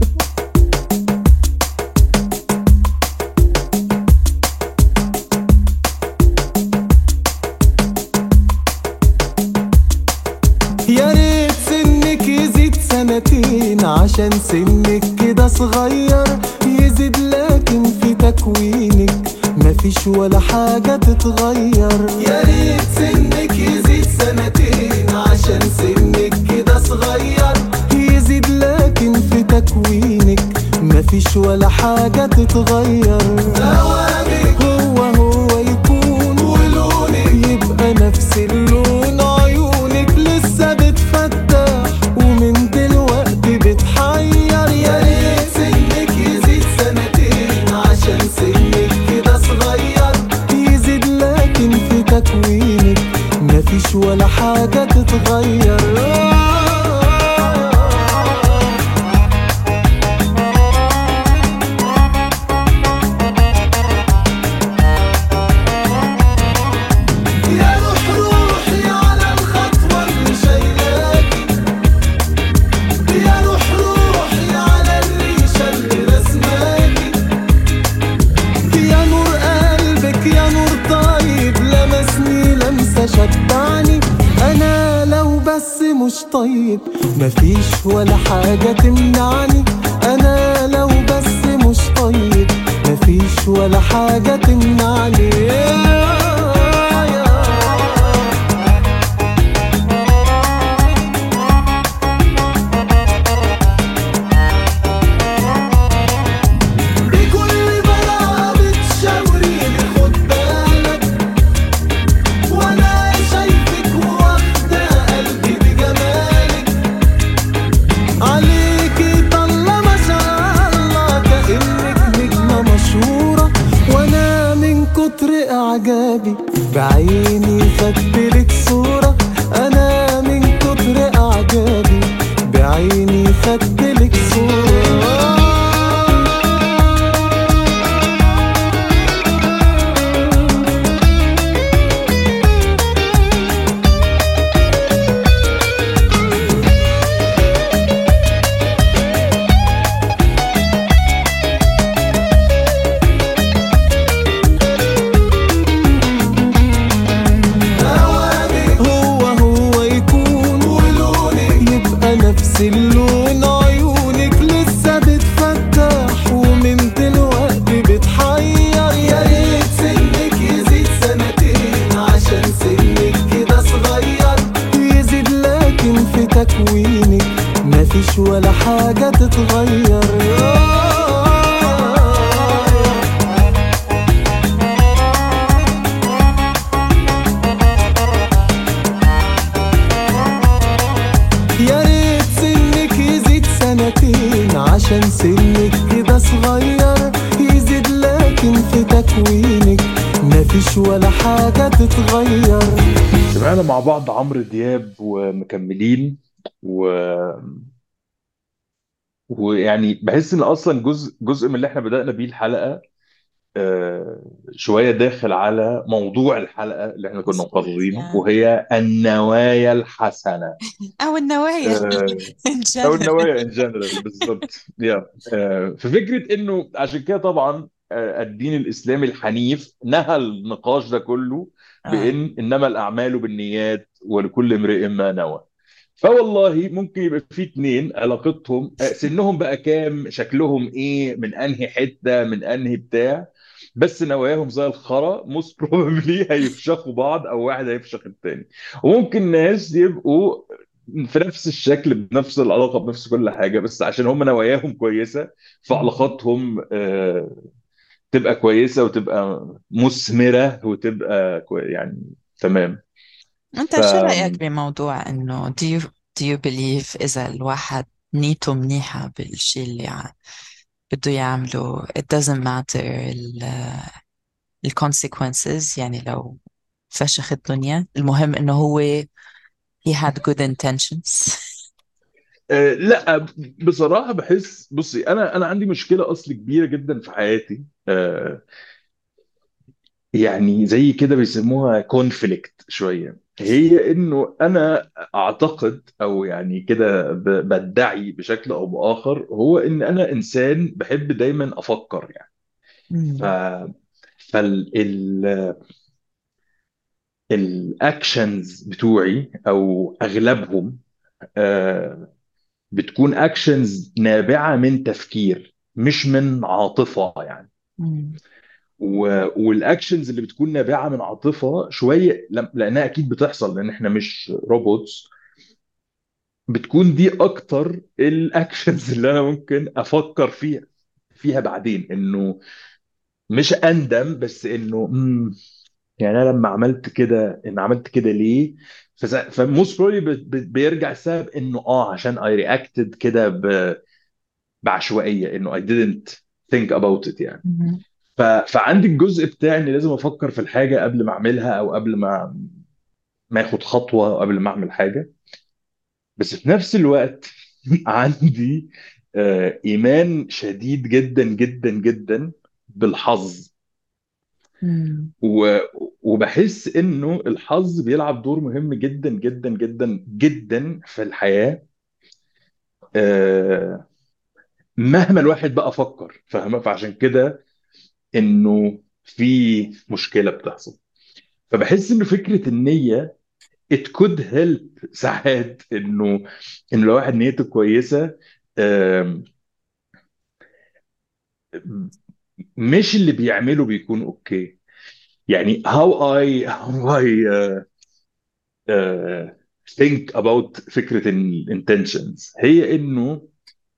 يا ريت سنك يزيد سنتين عشان سنك كده صغير، يزيد لكن في تكوينك مفيش ولا حاجة تتغير. يا ريت سنك يزيد سنتين عشان سنك كده صغير، يزيد لكن في تكوينك مفيش ولا حاجة تتغير. ثوابك هو هو يكون، ولونك يبقى نفس اللون، عيونك لسه بتفتح ومن دلوقتي بتحير. يا ريت سنك يزيد سنتين عشان سنك كده صغير، يزيد لكن في تكوينك مفيش ولا حاجة تتغير. يا روح روحي على الخطوة اللي شايلاكي، يا روح روحي على الريشة اللي رسماكي، يا نور قلبك يا نور طيب لمسني لمسة شبعني. أنا لو بس مش طيب مفيش ولا حاجة تمنعني، أنا لو بس مش طيب مفيش ولا حاجة تمنعني. بكل براءة بتشاوريني خد بالك، وانا شايفك واخدة قلبي بجمالك، عليكي طلة ما شاء الله كأنك نجمة مشهورة، وانا من كتر اعجابي مفيش ولا حاجة تتغير. يا ريت سنك يزيد سنتين عشان سنك كده صغير، يزيد لكن في تكوينك مفيش ولا حاجة تتغير. سمعنا مع بعض عمرو دياب ومكملين و... ويعني بحس ان اصلا جزء جزء من اللي احنا بدأنا بيه الحلقة آه، شوية داخل على موضوع الحلقة اللي احنا كنا مظبوط مقررينه، يا وهي النوايا الحسنة. أو النوايا آه، in او general. النوايا ان جنرال بالظبط. يا آه، في فكرة انه عشان كده طبعا آه، الدين الاسلامي الحنيف نهى النقاش ده كله آه. بان انما الاعمال بالنيات ولكل امرئ ما نوى. فوالله ممكن يبقى في اتنين علاقتهم آه، سنهم بقى كام، شكلهم ايه، من انهي حتة، من انهي بتاع، بس نواياهم زي الخرا موست بروبلي هيفشخوا بعض او واحد هيفشخ التاني. وممكن ناس يبقوا في نفس الشكل بنفس العلاقة بنفس كل حاجة، بس عشان هم نواياهم كويسة مم. فعلاقاتهم آه، تبقى كويسة وتبقى مثمرة وتبقى كوي يعني تمام. أنت ف شو رأيك بموضوع إنه do you do you believe إذا الواحد نيته منيحة بالشيء اللي ع- بده يعمله it doesn't matter ال ال consequences، يعني لو فشخ الدنيا المهم إنه هو he had good intentions. آه، لا بصراحة بحس، بصي أنا أنا عندي مشكلة أصل كبيرة جدا في حياتي آه، يعني زي كده بيسموها كونفليكت شوية، هي إنه أنا أعتقد أو يعني كده ب- بدعي بشكل أو بآخر هو إن أنا إنسان بحب دايما أفكر يعني. ف مم. فال ال الاكشنز بتوعي او اغلبهم آه، بتكون اكشنز نابعه من تفكير مش من عاطفه يعني. مم. و- والاكشنز اللي بتكون نابعه من عاطفه شويه لم- لانها اكيد بتحصل لان احنا مش روبوتس، بتكون دي اكتر الاكشنز اللي انا ممكن افكر فيها فيها بعدين، انه مش اندم بس انه مم، يعني انا لما عملت كده ان عملت كده ليه. فموست بروبلي بيرجع السبب انه اه عشان اي رياكتد كده ب- بعشوائيه، انه I didn't think about it يعني. مم. ف... فعندي الجزء بتاعي اني لازم افكر في الحاجه قبل ما اعملها او قبل ما ما اخد خطوه او قبل ما اعمل حاجه. بس في نفس الوقت عندي آه، ايمان شديد جدا جدا جدا بالحظ. مم. و... وبحس انه الحظ بيلعب دور مهم جدا جدا جدا جدا في الحياه آه، مهما الواحد بقى فكر، فاهمه؟ فعشان كده انه في مشكله بتحصل. فبحس انه فكره النيه it could help ساعات انه انه لو واحد نيته كويسه آم، مش اللي بيعمله بيكون اوكي. يعني how I how I uh, uh, think about فكره ال intentions هي انه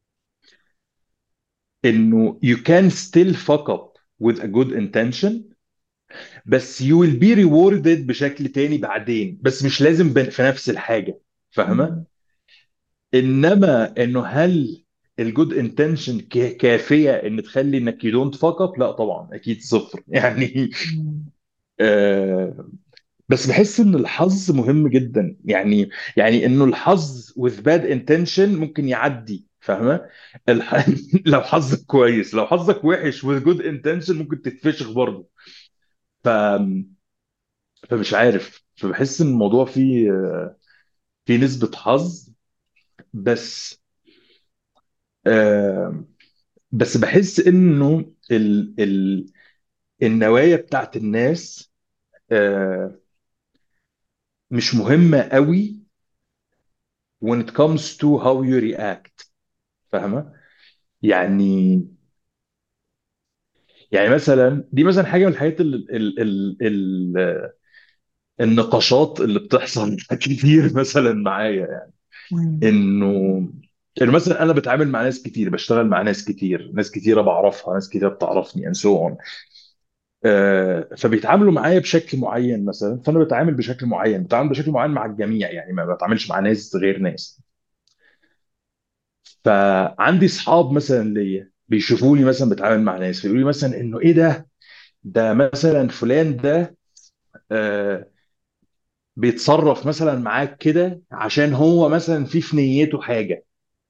انه you can still fuck up with a good intention، بس you will be rewarded بشكل تاني بعدين، بس مش لازم ب- في نفس الحاجه، فاهمه؟ مم. انما انه هل الجود انتنشن كافيه ان تخلي انك يو دونت فاك اب؟ لا طبعا اكيد صفر يعني. مم. آه بس بحس ان الحظ مهم جدا يعني. يعني انه الحظ with bad intention ممكن يعدي، فاهمه؟ الح... لو حظك كويس، لو حظك وحش with good intention ممكن تتفشخ برضه. ف... فمش عارف، فبحس ان الموضوع فيه فيه نسبة حظ. بس آه بس بحس انه ال ال النوايا بتاعت الناس آه، مش مهمة قوي when it comes to how you react، فاهمة؟ يعني يعني مثلا دي مثلا حاجة من الحاجات ال ال ال ال النقاشات اللي بتحصل كتير مثلا معايا يعني. مم. انه يعني مثلا انا بتعامل مع ناس كتير، بشتغل مع ناس كتير، ناس كتيره بعرفها، ناس كتيره بتعرفني and so on. آه، فبيتعاملوا معايا بشكل معين مثلا، فانا بتعامل بشكل معين، بتعامل بشكل معين مع الجميع، يعني ما بتعاملش مع ناس غير ناس. فعندي اصحاب مثلا ليا بيشوفوني مثلا بتعامل مع ناس، فيقولوا لي مثلا انه ايه ده، ده مثلا فلان ده آه، بيتصرف مثلا معاك كده عشان هو مثلا في في نيته حاجه،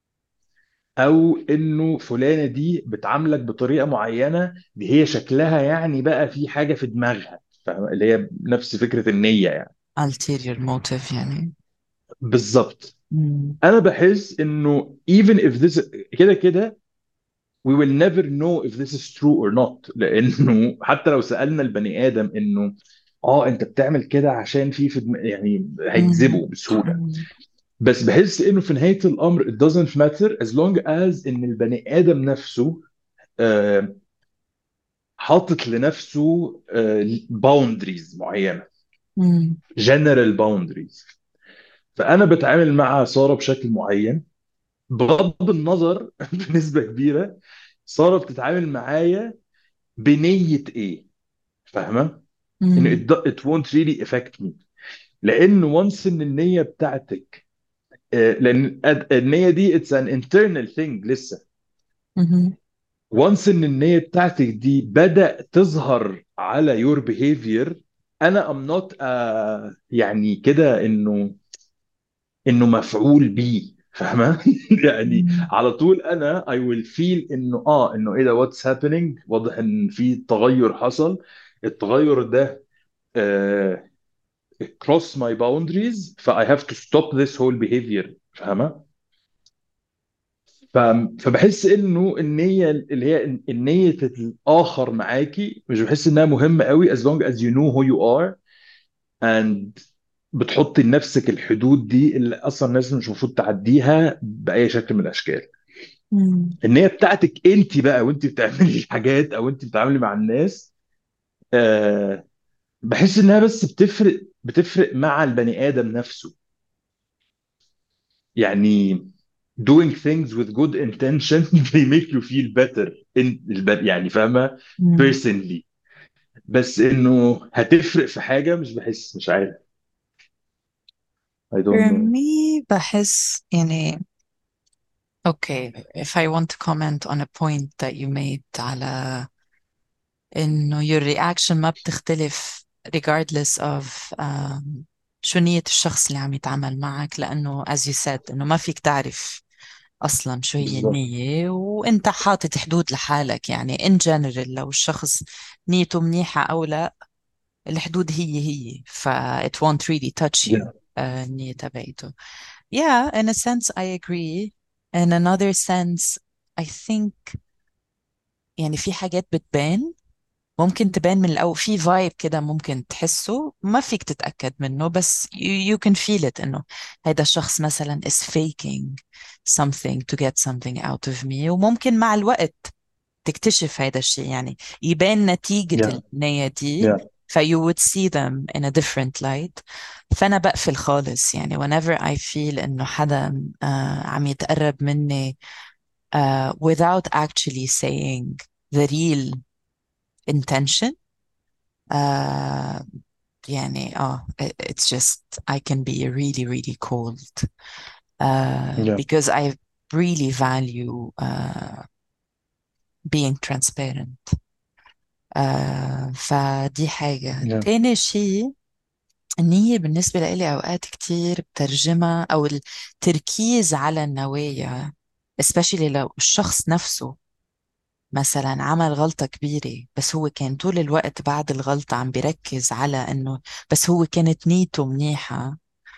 او انه فلانه دي بتعاملك بطريقه معينه، دي هي شكلها يعني بقى في حاجه في دماغها، فاهم؟ اللي هي نفس فكره النيه يعني. ulterior motive يعني. بالظبط. مم. انا بحس انه even if this كده كده we will never know if this is true or not، لانه حتى لو سالنا البني ادم انه اه انت بتعمل كده عشان في في دم... يعني مم. هيكذبوا بسهوله. مم. بس بحس انه في نهايه الامر it doesn't matter as long as ان البني ادم نفسه آه، حاطط لنفسه باوندريز معينه، مم. جنرال باوندريز. فانا بتعامل مع ساره بشكل معين بغض النظر بنسبه كبيره ساره بتتعامل معايا بنيه ايه، فاهمه؟ ان مم. it, do- it won't really affect me، لان once ان النيه بتاعتك آه، لان النيه دي it's an internal thing لسه. مم. once ان النيه بتاعتك دي بدأ تظهر على your behavior، انا am not uh, يعني كده انه انه مفعول بيه، فاهمه؟ يعني مم. على طول انا I will feel انه اه انه ايه ده what's happening، واضح ان في تغير حصل. التغير ده uh, cross my boundaries، ف I have to stop this whole behavior، فاهمه؟ ف... فبحس انه النيه اللي هي النيه الاخر معاكي مش بحس انها مهمه قوي as long as you know who you are and بتحطي لنفسك الحدود دي اللي اصلا الناس مش المفروض تعديها باي شكل من الاشكال. مم. النيه بتاعتك انت بقى وانت بتعملي الحاجات او انت بتتعاملي مع الناس، آه بحس انها بس بتفرق بتفرق مع البني ادم نفسه، يعني doing things with good intention they make you feel better in الب... يعني فاهمه؟ مم. personally. بس انه هتفرق في حاجه مش بحس، مش عارف. I don't For know. me بحس يعني okay if I want to comment on a point that you made على إنه your reaction ما بتختلف regardless of um, شو نية الشخص اللي عم يتعامل معك، لأنه as you said إنه ما فيك تعرف أصلا شو هي بالظبط. النية، وأنت حاطط حدود لحالك. يعني in general لو الشخص نيته منيحة أو لا، الحدود هي هي، ف it won't really touch you. yeah آه، النية تبعته. Yeah, in a sense I agree. In another sense I think يعني في حاجات بتبان، ممكن تبان من الأول، في فايب كده ممكن تحسه ما فيك تتأكد منه، بس you, you can feel it إنه هيدا الشخص مثلا is faking something to get something out of me. وممكن مع الوقت تكتشف هيدا الشيء، يعني يبان نتيجة yeah النية دي، yeah ف you would see them in a different light. فأنا بقفل خالص يعني whenever I feel إنه حدا آه عم يتقرب مني آه without actually saying the real intention. آه يعني اه it's just I can be really really cold uh, yeah because I really value uh, being transparent. آه فدي حاجة. yeah تاني شيء، النية بالنسبة لي أوقات كتير بترجمها أو التركيز على النوايا especially لو الشخص نفسه مثلا عمل غلطة كبيرة، بس هو كان طول الوقت بعد الغلطة عم بيركز على إنه بس هو كانت نيته منيحة.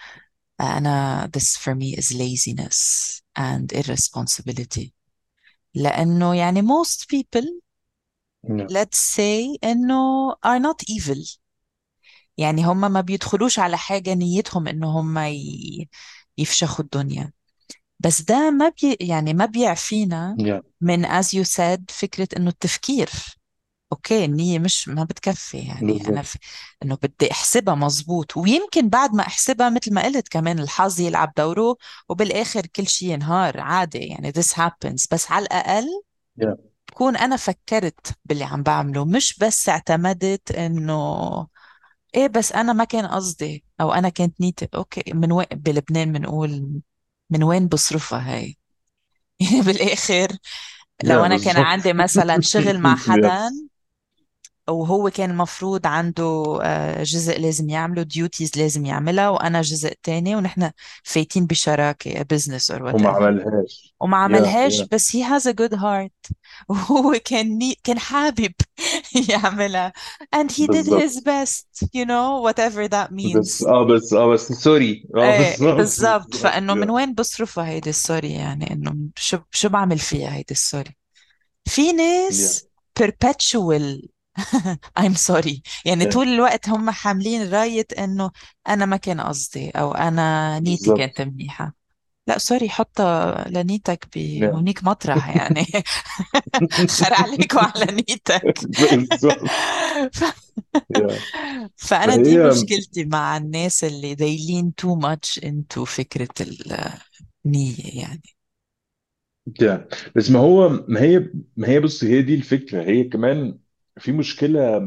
أنا this for me is laziness and irresponsibility. لأنه يعني most people yeah let's say إنه are not evil. يعني هم ما بيدخلوش على حاجة نيتهم إنه هم ي... يفشخوا الدنيا. بس ده ما بي يعني ما بيعفينا yeah من as you said فكرة إنه التفكير. اوكي النية مش ما بتكفي، يعني انا بالظبط. في انه بدي احسبها مزبوط، ويمكن بعد ما احسبها مثل ما قلت كمان الحظ يلعب دوره، وبالاخر كل شيء ينهار عادي، يعني this happens. بس على الاقل yeah. بكون انا فكرت باللي عم بعمله، مش بس اعتمدت انه ايه بس انا ما كان قصدي او انا كانت نيتي اوكي. من وين بلبنان بنقول من وين بصرفها هاي؟ يعني بالاخر لو yeah, انا كان بالظبط. عندي مثلا شغل مع حدا yes. وهو كان المفروض عنده آه، جزء لازم يعمله، ديوتيز لازم يعملها، وانا جزء تاني، ونحن فايتين بشراكة business or وما whatever، عملهاش. وما yeah, عملهاش، yeah. بس he has a good heart وهو كان ني... كان حابب يعملها and he did his بالظبط. best, you know, whatever that بس means. اه بس اه بس سوري اه ايه بالظبط بالضبط، بالظبط. فانه من yeah. وين بصرفها هيدي السوري؟ يعني انه شو شو بعمل فيها هيدي السوري؟ في yeah. ناس perpetual I'm sorry، يعني yeah. طول الوقت هم حاملين راية انه انا ما كان قصدي او انا نيتي كانت بالظبط. منيحة. لا سوري، حطها لنيتك yeah. بهونيك مطرح يعني. خير عليك وعلى نيتك. بالظبط. ف... yeah. فأنا دي فهي مشكلتي مع الناس اللي they lean too much into فكرة النية يعني. yeah. بس ما هو ما هي ما هي بص، هي دي الفكرة. هي كمان في مشكلة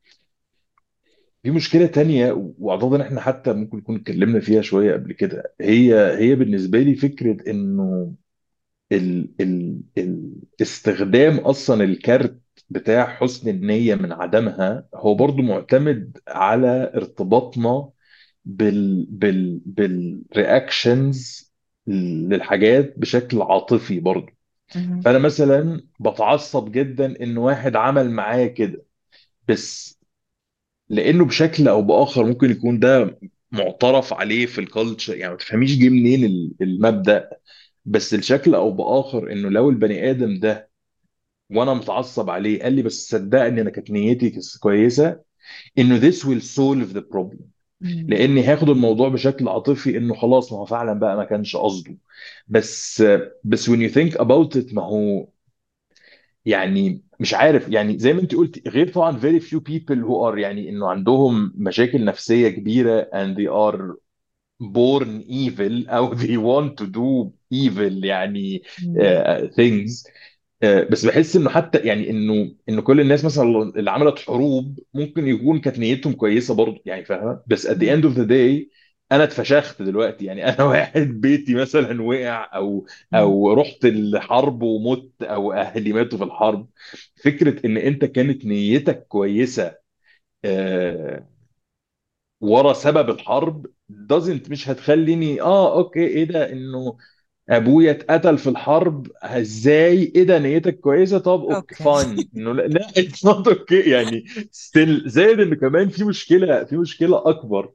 في مشكلة تانية، وأعتقد إن إحنا حتى ممكن نكون اتكلمنا فيها شوية قبل كده. هي هي بالنسبة لي فكرة إنه ال ال ال استخدام اصلا الكارت بتاع حسن النية من عدمها هو برضو معتمد على ارتباطنا بال بال بالرياكشنز للحاجات بشكل عاطفي برضو. مهم. فانا مثلا بتعصب جدا ان واحد عمل معايا كده، بس لانه بشكل او باخر ممكن يكون ده معترف عليه في الكالتشر، يعني ما تفهميش جه منين ال- المبدأ. بس الشكل او باخر انه لو البني ادم ده وانا متعصب عليه قال لي بس صدقني انا كانت نيتي كس- كويسه، انه this will solve the problem. مم. لاني هاخد الموضوع بشكل عاطفي انه خلاص ما هو فعلا بقى ما كانش قصده. بس بس when you think about it، ما هو يعني مش عارف، يعني زي ما انت قلت، غير طبعا very few people who are يعني انه عندهم مشاكل نفسيه كبيره and they are born evil او they want to do evil يعني مم. uh, things. آه، بس بحس انه حتى يعني انه انه كل الناس مثلا اللي عملت حروب ممكن يكون كانت نيتهم كويسه برضه، يعني فاهمه؟ بس at the مم. end of the day انا اتفشخت دلوقتي. يعني انا واحد بيتي مثلا وقع، او مم. او رحت الحرب ومت، او اهلي ماتوا في الحرب. فكره ان انت كانت نيتك كويسه آه، ورا سبب الحرب doesn't مش هتخليني اه اوكي ايه ده، انه ابويا اتقتل في الحرب ازاي، ايه ده نيتك كويسه، طب اوكي اوكي. فاين، انه لا لا اتس نوت اوكي يعني. ستيل زائد ان كمان في مشكله في مشكله اكبر،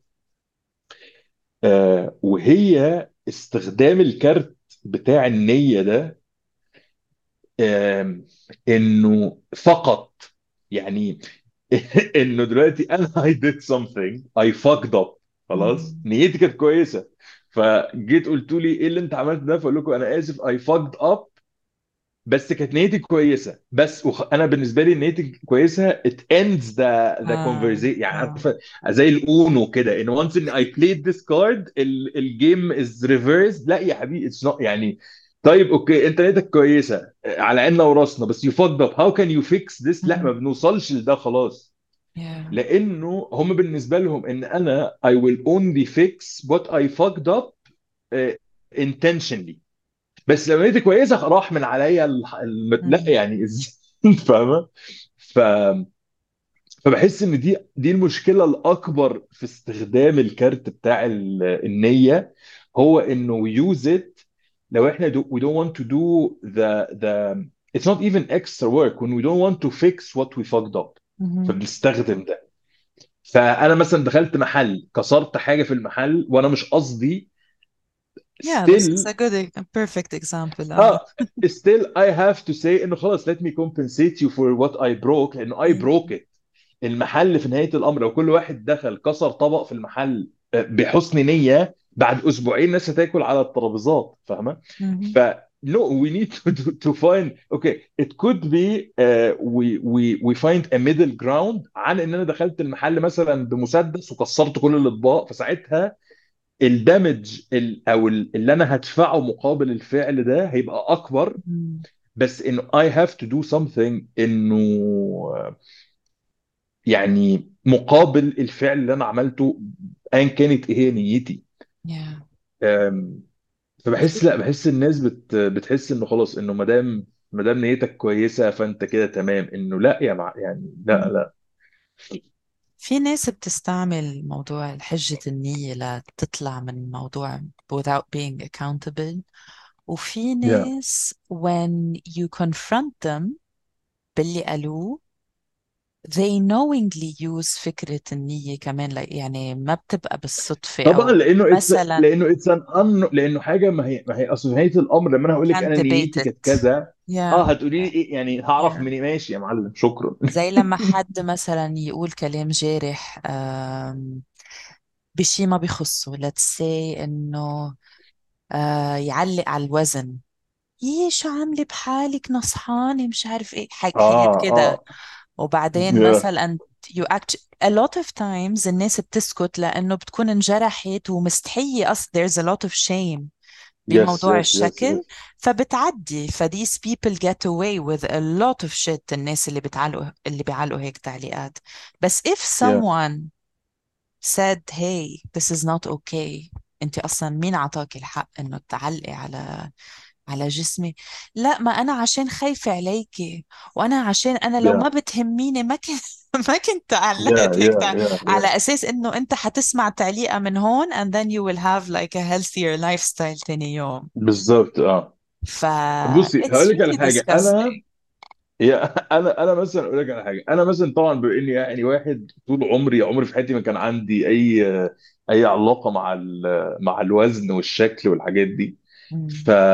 آه وهي استخدام الكارت بتاع النيه ده، آه انه فقط يعني انه دلوقتي انا I did something I fucked up، خلاص مم. نيتي كانت كويسه، فجيت قلت لي ايه اللي انت عملته ده، فاقول لكم انا اسف I fucked up، بس كانت نيتي كويسه. بس وخ... انا بالنسبه لي نيتي كويسه it ends the the اه conversation، يعني اه. عارفه زي الاونو كده، ان once ان I played this card الجيم is reversed. لا يا حبيبي it's not يعني. طيب اوكي انت نيتك كويسه على عيننا وراسنا، بس you fucked up how can you fix this؟ لا ما مم. بنوصلش لده خلاص. yeah. لانه هم بالنسبه لهم ان انا I will only fix what I fucked up uh, intentionally. بس لو نيتي كويسه راح من عليا الح- الم... لا مم. يعني إز- فاهمه؟ ف... فبحس ان دي دي المشكله الاكبر في استخدام الكارت بتاع ال- النيه، هو انه use it لو احنا do, we don't want to do the the it's not even extra work when we don't want to fix what we fucked up. مم. فبنستخدم ده. فانا مثلا دخلت محل كسرت حاجه في المحل وانا مش قصدي، yeah, this is still a good e- a perfect example. اه. اه still I have to say انه خلاص let me compensate you for what I broke، لانه I broke مم. it. المحل في نهاية الامر لو كل واحد دخل كسر طبق في المحل آه، بحسن نية، بعد اسبوعين الناس هتاكل على الترابيزات، فاهمة؟ مم. ف no, we need to to, to find, okay, it could be uh, we we we find a middle ground عن ان انا دخلت المحل مثلا بمسدس وكسرت كل الاطباق، فساعتها الدمج ال- او ال- اللي انا هدفعه مقابل الفعل ده هيبقى اكبر. مم. بس انه I have to do something، انه يعني مقابل الفعل اللي انا عملته ايا كانت ايه هي نيتي. yeah. أم، فبحس، لا، بحس الناس بت بتحس انه خلاص، انه ما دام ما دام نيتك كويسه فانت كده تمام، انه لا يا مع يعني لا مم. لا. في ناس بتستعمل موضوع حجة النية لتطلع من موضوع without being accountable، وفي yeah. ناس when you confront them باللي قالوه they knowingly use فكرة النية كمان، like يعني ما بتبقى بالصدفة طبعا، أو لانه اتس مثلا لانه اتس ان ان لانه حاجه، ما هي ما هي اصل نهايه الامر لما انا you هقول لك can't انا debate نيتي كانت it. كذا، yeah اه هتقولي لي ايه يعني، هعرف yeah منين؟ ماشي يا معلم، شكرا. زي لما حد مثلا يقول كلام جارح آم، بشي ما بيخصه، let's say إنه آه يعلق على الوزن، ايه شو عاملة بحالك نصحانة مش عارف ايه، حاج- حاجات اه كده. اه وبعدين yeah. مثلا you act a lot of times الناس بتسكت لأنه بتكون انجرحت ومستحية أصلا there's a lot of shame yes بموضوع yes yes الشكل، yes فبتعدي. ف these people get away with a lot of shit، الناس اللي بتعلقوا اللي بيعلقوا هيك تعليقات. بس if yeah someone said hey this is not okay، انت اصلا مين عطاك الحق انه تعلقي على على جسمي؟ لا ما انا عشان خايفة عليكي، وانا عشان انا لو yeah ما بتهميني ما كنت ما كنت yeah علقت هيك yeah تع... yeah yeah على اساس انه انت حتسمع تعليقة من هون and then you will have like a healthier lifestyle تاني يوم. بالظبط اه. ف بصي it's هقول لك على really حاجه، انا disgusting. يا انا انا مثلا اقول لك على حاجه، انا مثلا طبعا بما اني يعني واحد طول عمري عمري في حياتي ما كان عندي اي اي علاقه مع ال- مع الوزن والشكل والحاجات دي. ف مم.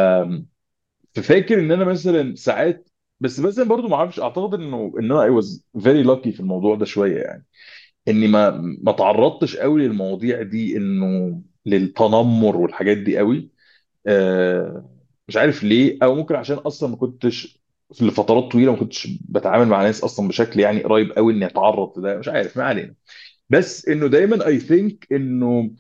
ففاكر ان انا مثلا ساعات، بس مثلا برضو ما اعرفش، اعتقد انه ان انا I was very lucky في الموضوع ده شويه يعني، اني ما ما تعرضتش قوي للمواضيع دي، انه للتنمر والحاجات دي قوي. آه، مش عارف ليه، او ممكن عشان اصلا ما كنتش في لفترات طويله ما كنتش بتعامل مع ناس اصلا بشكل يعني قريب قوي اني اتعرض لده، مش عارف، ما علينا. بس انه دايما I think انه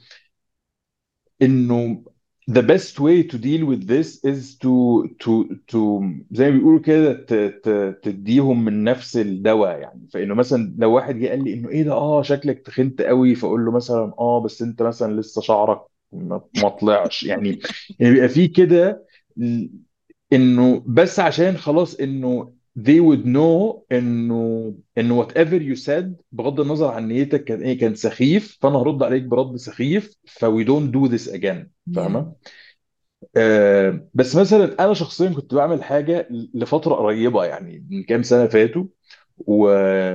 انه the best way to deal with this is to to to زي ما بيقولوا كده ت- ت- تديهم من نفس الدواء يعني. فانه مثلا لو واحد جه قال لي انه ايه ده، اه شكلك تخنت قوي، فاقول له مثلا اه بس انت مثلا لسه شعرك ما ما طلعش يعني. يعني بيبقى في كده، انه بس عشان خلاص انه they would know انه انه whatever you said بغض النظر عن نيتك كان ايه كان سخيف، فانا هرد عليك برد سخيف، ف we don't do this again. yeah فاهمه؟ آه بس مثلا انا شخصيا كنت بعمل حاجه لفتره قريبه يعني من كام سنه فاتوا، و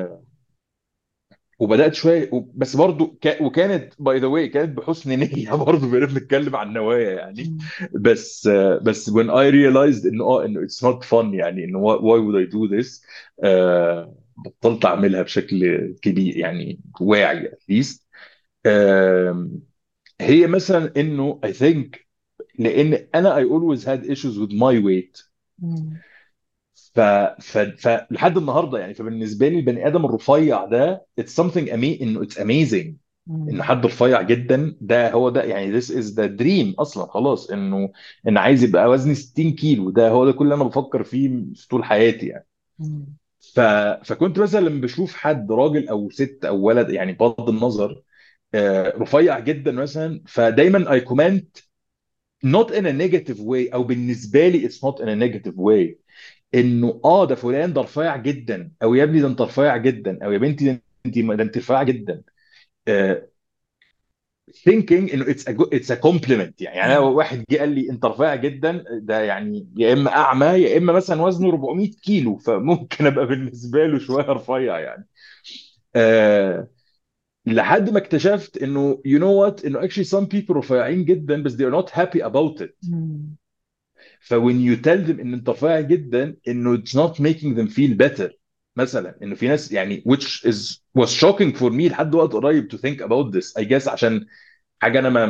وبدات شويه و- بس برضو ك... وكانت باي ذا واي كانت بحسن نيه برضو بقينا بنتكلم عن نوايا يعني. مم. بس آه، بس when I realized انه اه انه it's not fun يعني، انه why, why would I do this، آه بطلت اعملها بشكل كبير يعني واعي at least. آه هي مثلا انه I think لان انا I always had issues with my weight. مم. ف... ف... فلحد النهارده يعني، فبالنسبه لي البني ادم الرفيع ده it's something أمي... انه it's amazing. ان مم. حد رفيع جدا ده هو ده يعني this is the dream اصلا، خلاص انه ان عايز يبقى وزني ستين كيلو، ده هو ده كل اللي انا بفكر فيه في طول حياتي يعني. مم. ف... فكنت مثلا لما بشوف حد راجل او ست او ولد يعني بغض النظر آه، رفيع جدا مثلا، فدايما I comment not in a negative way، او بالنسبه لي it's not in a negative way، انه اه ده فلان ده رفيع جدا، او يا ابني ده انت رفيع جدا، او يا بنتي ده انت ده انت رفيعه جدا. آه، thinking انه it's a good, it's a compliment يعني. يعني انا yeah واحد جه قال لي انت رفيع جدا، ده يعني يا اما اعمى يا اما مثلا وزنه أربعمائة كيلو، فممكن ابقى بالنسبه له شويه رفيع يعني. آه لحد ما اكتشفت انه you know what، انه actually some people رفيعين جدا بس they are not happy about it. مم. ف when you tell them ان انت رفيع جدا، انه it's not making them feel better. مثلا انه في ناس يعني which is was shocking for me لحد وقت قريب to think about this I guess، عشان حاجه انا ما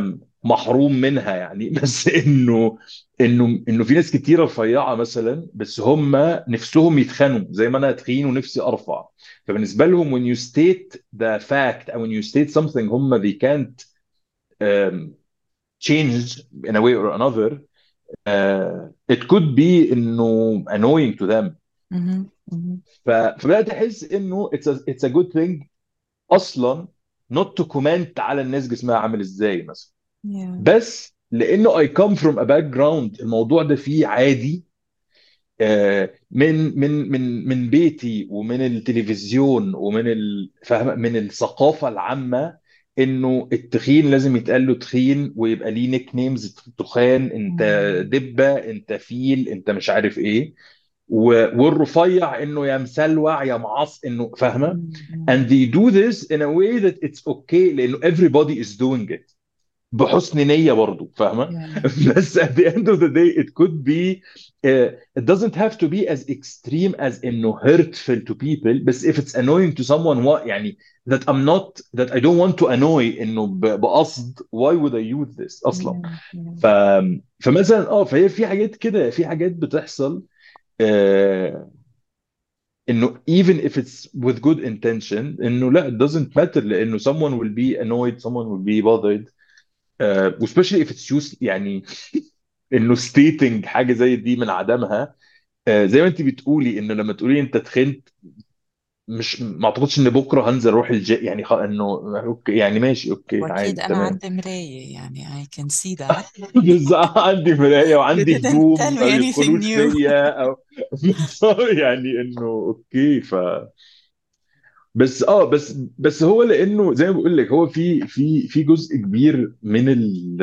محروم منها يعني. بس انه انه انه في ناس كتيره رفيعه مثلا، بس هم نفسهم يتخنوا زي ما انا تخين ونفسي ارفع. فبالنسبه لهم when you state the fact او when you state something هم they can't um, change in a way or another, uh, it could be انه annoying to them. مهم. مهم. ف- فبدات احس انه it's a, it's a good thing اصلا not to comment على الناس جسمها عامل ازاي مثلا. Yeah. بس لانه I come from a background الموضوع ده فيه عادي، آه، من من من من بيتي ومن التلفزيون ومن ال- فاهم، من الثقافه العامه، انه التخين لازم يتقال له تخين ويبقى ليه نيك نيمز، تخان، انت مم. دبه، انت فيل، انت مش عارف ايه. و- والرفيع انه يا مسلوع يا معص، انه فاهمه. مم. and مم. they do this in a way that it's okay لانه everybody is doing it بحسن نية برضو، فاهمة. Yeah. بس at the end of the day it could be uh, it doesn't have to be as extreme as انه hurtful to people. بس if it's annoying to someone what يعني that I'm not that I don't want to annoy انه ب- بقصد why would I use this اصلا. Yeah. Yeah. ف فمثلا اه فهي في حاجات كده، في حاجات بتحصل آه، انه even if it's with good intention انه لا it doesn't matter لانه someone will be annoyed, someone will be bothered. uh, especially if it's used يعني انه stating حاجه زي دي من عدمها. آه، زي ما انت بتقولي انه لما تقولي انت تخنت، مش ما اعتقدش ان بكره هنزل اروح الجي يعني، خ... انه اوكي يعني ماشي اوكي وأكيد عادي أنا تمام. عندي مراية يعني I can see that. بس عندي مرايه You وعندي didn't هدوم tell ما me anything بيدخلوش new. فيا او بس يعني انه اوكي. ف بس اه بس بس هو لانه زي ما بقول لك هو في في في جزء كبير من ال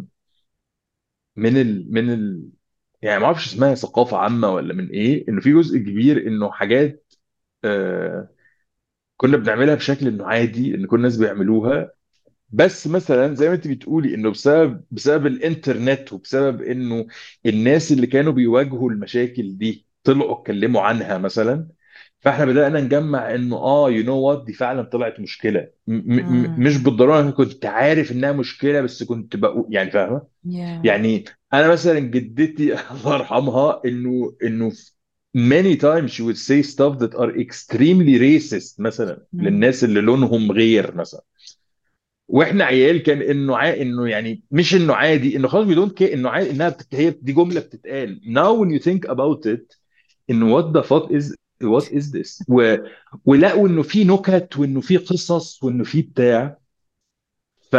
من ال من ال يعني ما اعرفش اسمها ثقافه عامه ولا من ايه، انه في جزء كبير انه حاجات آه كنا بنعملها بشكل انه عادي ان كل الناس بيعملوها. بس مثلا زي ما انت بتقولي انه بسبب بسبب الانترنت وبسبب انه الناس اللي كانوا بيواجهوا المشاكل دي طلعوا اتكلموا عنها مثلا، فاحنا بدأنا نجمع انه اه يو نو وات دي فعلا طلعت مشكله، م م مش مم. بالضروره انا كنت عارف انها مشكله بس كنت بقول يعني فاهمه. Yeah. يعني انا مثلا جدتي الله يرحمها انه انه many times she would say stuff that are extremely racist مثلا مم. للناس اللي لونهم غير مثلا. واحنا عيال كان انه ع... انه يعني مش انه عادي، انه خلاص we don't care، انه عادي انها بت... هي دي جمله بتتقال. now when you think about it انه what the fuck is what is this. و... ولقوا انه في نكت وانه في قصص وانه في بتاع. ف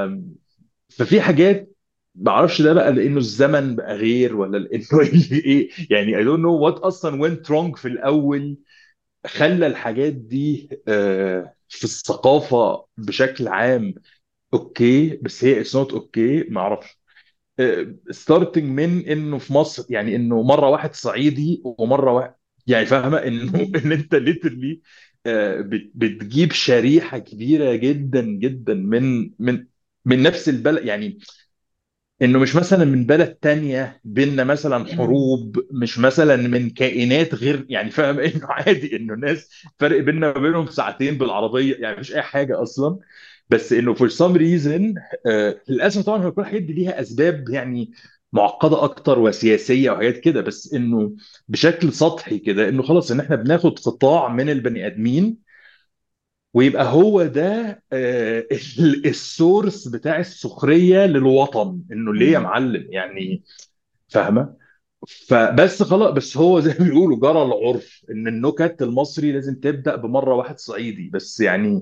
ففي حاجات ما اعرفش ده بقى لانه الزمن بقى غير ولا لانه ايه يعني I don't know what اصلا went wrong في الاول خلى الحاجات دي آه، في الثقافة بشكل عام اوكي بس هي اتس نوت اوكي ما اعرفش. ستارتنج من انه في مصر يعني انه مره واحد صعيدي ومره واحد يعني فاهمه انه مم. ان انت ليترلي بتجيب شريحه كبيره جدا جدا من من من نفس البلد يعني. انه مش مثلا من بلد تانية بيننا مثلا مم. حروب، مش مثلا من كائنات غير يعني فاهم انه عادي انه ناس فرق بيننا وبينهم ساعتين بالعربية يعني مفيش اي حاجة اصلا. بس انه for some reason آه للاسف طبعا هو كل الحاجات دي ليها اسباب يعني معقدة اكتر وسياسية وحاجات كده. بس انه بشكل سطحي كده انه خلاص ان احنا بناخد قطاع من البني ادمين ويبقى هو ده آه، ال- السورس بتاع السخرية للوطن، انه ليه يا مم. معلم يعني فاهمة. فبس خلاص بس هو زي ما بيقولوا جرى العرف ان النكت المصري لازم تبدأ بمرة واحد صعيدي بس يعني.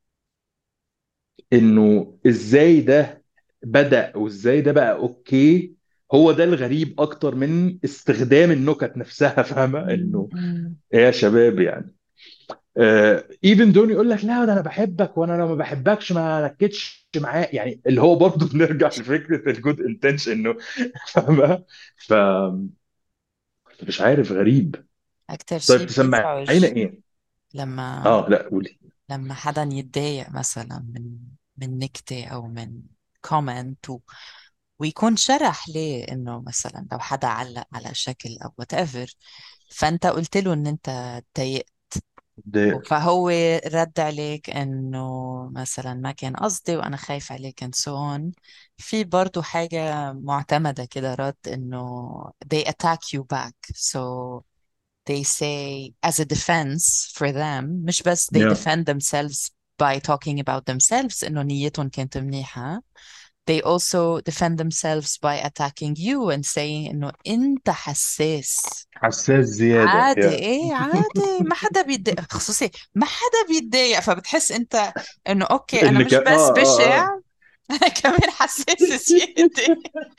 انه ازاي ده بدأ وازاي ده بقى اوكي، هو ده الغريب اكتر من استخدام النكت نفسها فاهمة مم. انه مم. إيه يا شباب يعني. ايفن دون يقول لك لا ده انا بحبك وانا لو ما بحبكش ما نكدش معاه يعني اللي هو برضه بنرجع لفكره الجود انتنشن انه فاهمه. ف مش عارف غريب. أكتر طيب شيء تسمعينا بيزعج ايه؟ لما اه لا قولي. لما حدا يتضايق مثلا من من نكتة أو من كومنت و... ويكون شرح ليه إنه مثلا لو حدا علق على شكل أو whatever، فأنت قلت له إن أنت اتضايقت، ده فهو رد عليك انه مثلا ما كان قصدي وانا خايف عليك and so on. في برضو حاجة معتمدة كده رد انه they attack you back, so they say as a defense for them, مش بس they yeah. defend themselves by talking about themselves انه نيتهم كانت منيحة, they also defend themselves by attacking you and saying انه انت حساس. حساس زيادة عادي، يا ايه عادي، ما حدا بيتضايق خصوصي، ما حدا بيتضايق، فبتحس انت انه اوكي انا اللي مش كان بس اه اه اه بشع انا كمان حساس زيادة.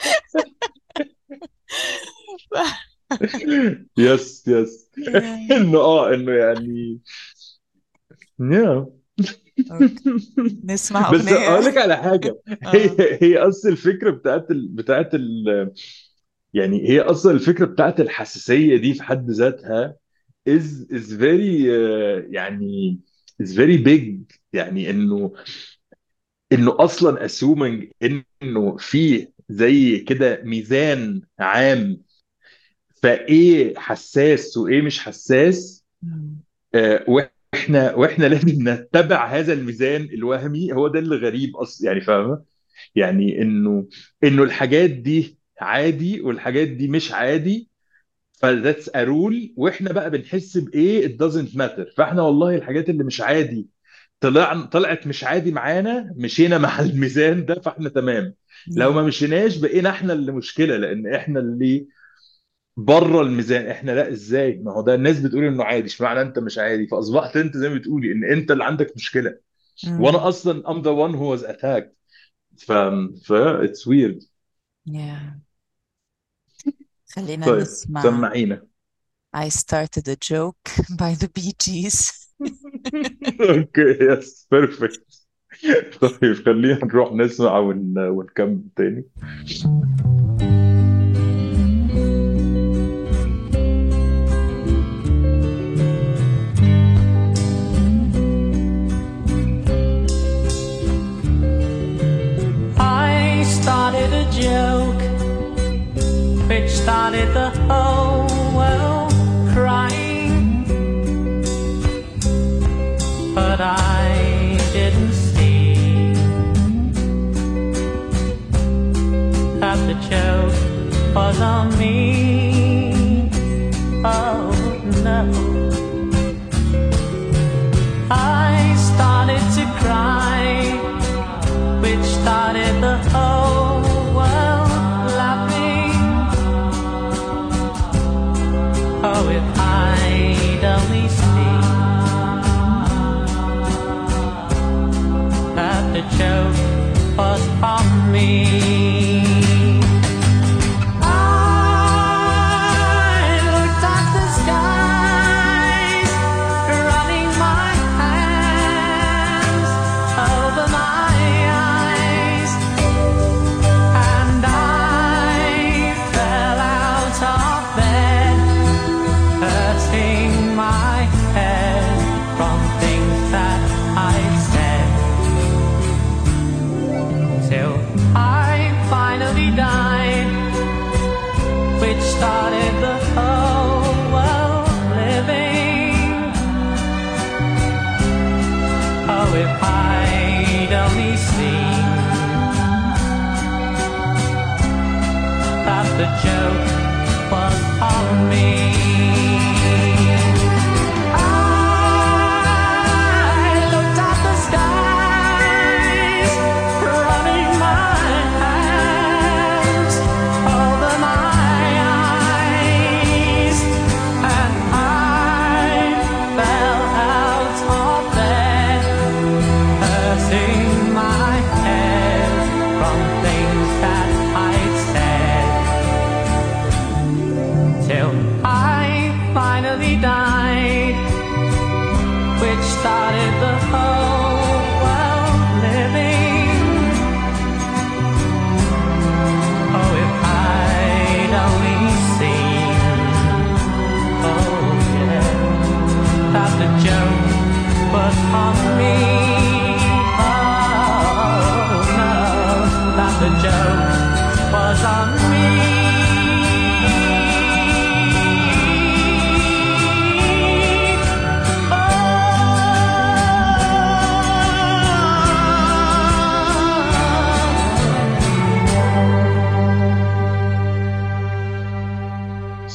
يس يس. Yeah. انه اه انه يعني yeah. اوكي نسمع بس اغنية. اقول لك على حاجه، هي اه. هي اصل الفكره بتاعت ال... بتاعت ال... يعني هي اصلا الفكره بتاعت الحساسيه دي في حد ذاتها is is very آه، يعني is very big. يعني انه انه اصلا assuming انه في زي كده ميزان عام، فايه حساس وايه مش حساس. مم. آه، واحنا واحنا لازم نتبع هذا الميزان الوهمي. هو ده اللي غريب اصلا، يعني فاهمه؟ يعني انه انه الحاجات دي عادي والحاجات دي مش عادي، فذاتس ا رول. واحنا بقى بنحس بايه it doesn't matter. فاحنا والله الحاجات اللي مش عادي طلع طلعت مش عادي معانا، مشينا مع الميزان ده فاحنا تمام. لو Yeah. ما مشيناش بقينا احنا اللي مشكلة، لان احنا اللي بره الميزان. احنا لا، ازاي؟ ما هو ده الناس بتقول انه عادي، اشمعنى انت مش عادي؟ فاصبحت انت زي ما بتقولي ان انت اللي عندك مشكلة، مم. وانا اصلا I'm the one who was attacked. ف ف it's weird. Yeah. خلينا طيب نسمع سمعينا. I started a joke by the Bee Gees. اوكي يس بيرفكت. طيب خلينا نروح نسمع ون... ونكمل تاني. I started a joke which started the whole world crying, but I didn't see that the joke was on me. Oh no, I started to cry, which started the whole world laughing. Oh, if I'd only seen that the joke was on me. I looked at the skies, running my hands over my eyes, and I fell out of bed, hurting my head from things that I said, till I finally died, which started the whole world living. Oh, if I'd only seen that the joke was on me. I looked at the skies, running my hands over my eyes, and I fell out of bed, hurting my head from things that I'd said, till I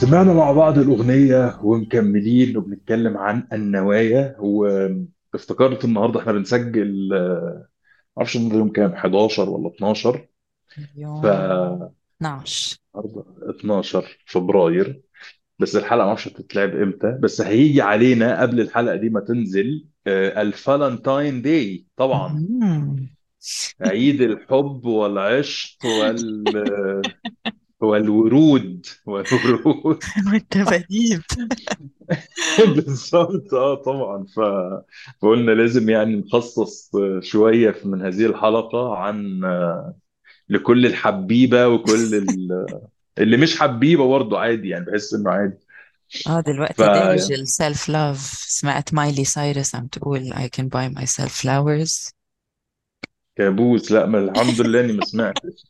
سمعنا مع بعض الأغنية ومكملين وبنتكلم عن النوايا، وافتكرت النهاردة احنا بنسجل آه، معرفش النهاردة يوم كام، حداشر ولا اتناشر؟ ف يوم اتناشر. النهاردة اتناشر فبراير، بس الحلقة معرفش هتتلعب امتى، بس هيجي علينا قبل الحلقة دي ما تنزل آه، الفالنتاين داي طبعا. مم. عيد الحب والعشق وال والورود والورود. والدباديب. بالظبط، اه طبعا. ف... فقلنا لازم يعني نخصص شوية من هذه الحلقة عن لكل الحبيبة وكل ال- اللي مش حبيبة برضه عادي، يعني بحس انه عادي. اه دلوقتي دارج السيلف لاف. سمعت مايلي سايرس عم تقول I can buy myself flowers. فكابوس، لا، ما الحمد لله اني ما سمعتش.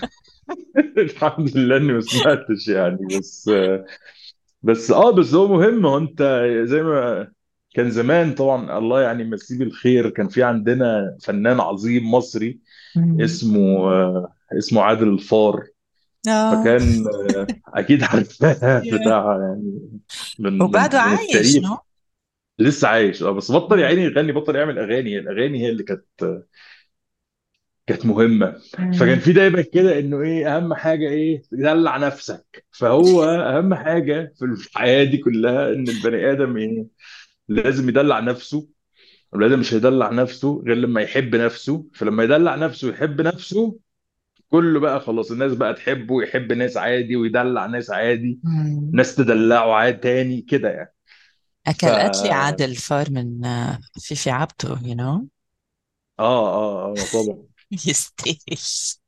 الحمد لله اني ما سمعتش يعني. بس بس اه بس هو مهم. هو انت زي ما كان زمان طبعا، الله يعني يمسيه بالخير، كان في عندنا فنان عظيم مصري مم. اسمه آه، اسمه عادل الفار. اه. فكان آه، اكيد عارفاه Yeah. بتاع يعني من من وبعده من عايش التاريخ. نو. لسه عايش اه، بس بطل يا مم. عيني يغني، بطل يعمل اغاني. هي الاغاني هي اللي كانت كانت مهمه. فكان مم. في دايما كده انه ايه اهم حاجه، ايه تدلع نفسك. فهو اهم حاجه في الحياه دي كلها ان البني ادم ايه لازم يدلع نفسه. البني ادم مش هيدلع نفسه غير لما يحب نفسه. فلما يدلع نفسه ويحب نفسه، كله بقى خلاص، الناس بقى تحبه ويحب ناس عادي ويدلع ناس عادي، مم. ناس تدلعه عادي تاني كده يعني. ف أكلت لي اه عادل فار من آه، فيفي عبده you know. اه اه طبعا. يستاهل.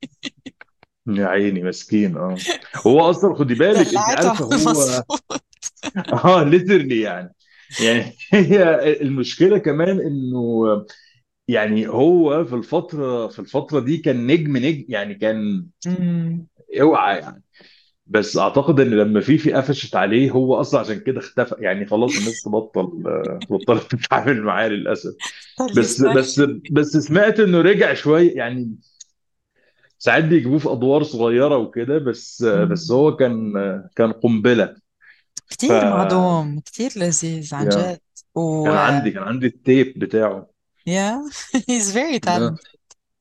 يا عيني مسكين. اه هو اصلا خدي بالك، انت دلعته على عارفه هو المظبوط. اه ليترلي يعني. يعني هي المشكله كمان انه يعني هو في الفتره في الفتره دي كان نجم نجم يعني، كان مم. اوعى يعني. بس اعتقد ان لما فيفي قفشت عليه هو اصلا عشان كده اختفى يعني. خلاص الناس تبطل آه، بطلت تتعامل معاه للاسف. طلي بس بس صح. بس سمعت انه رجع شويه يعني. ساعات بيجيبوه في ادوار صغيره وكده، بس بس مم. هو كان كان قنبله. ف كتير مهضوم كتير لذيذ عن يا جد. و كان عندي كان عندي التيب بتاعه. yeah he's very آه. talented.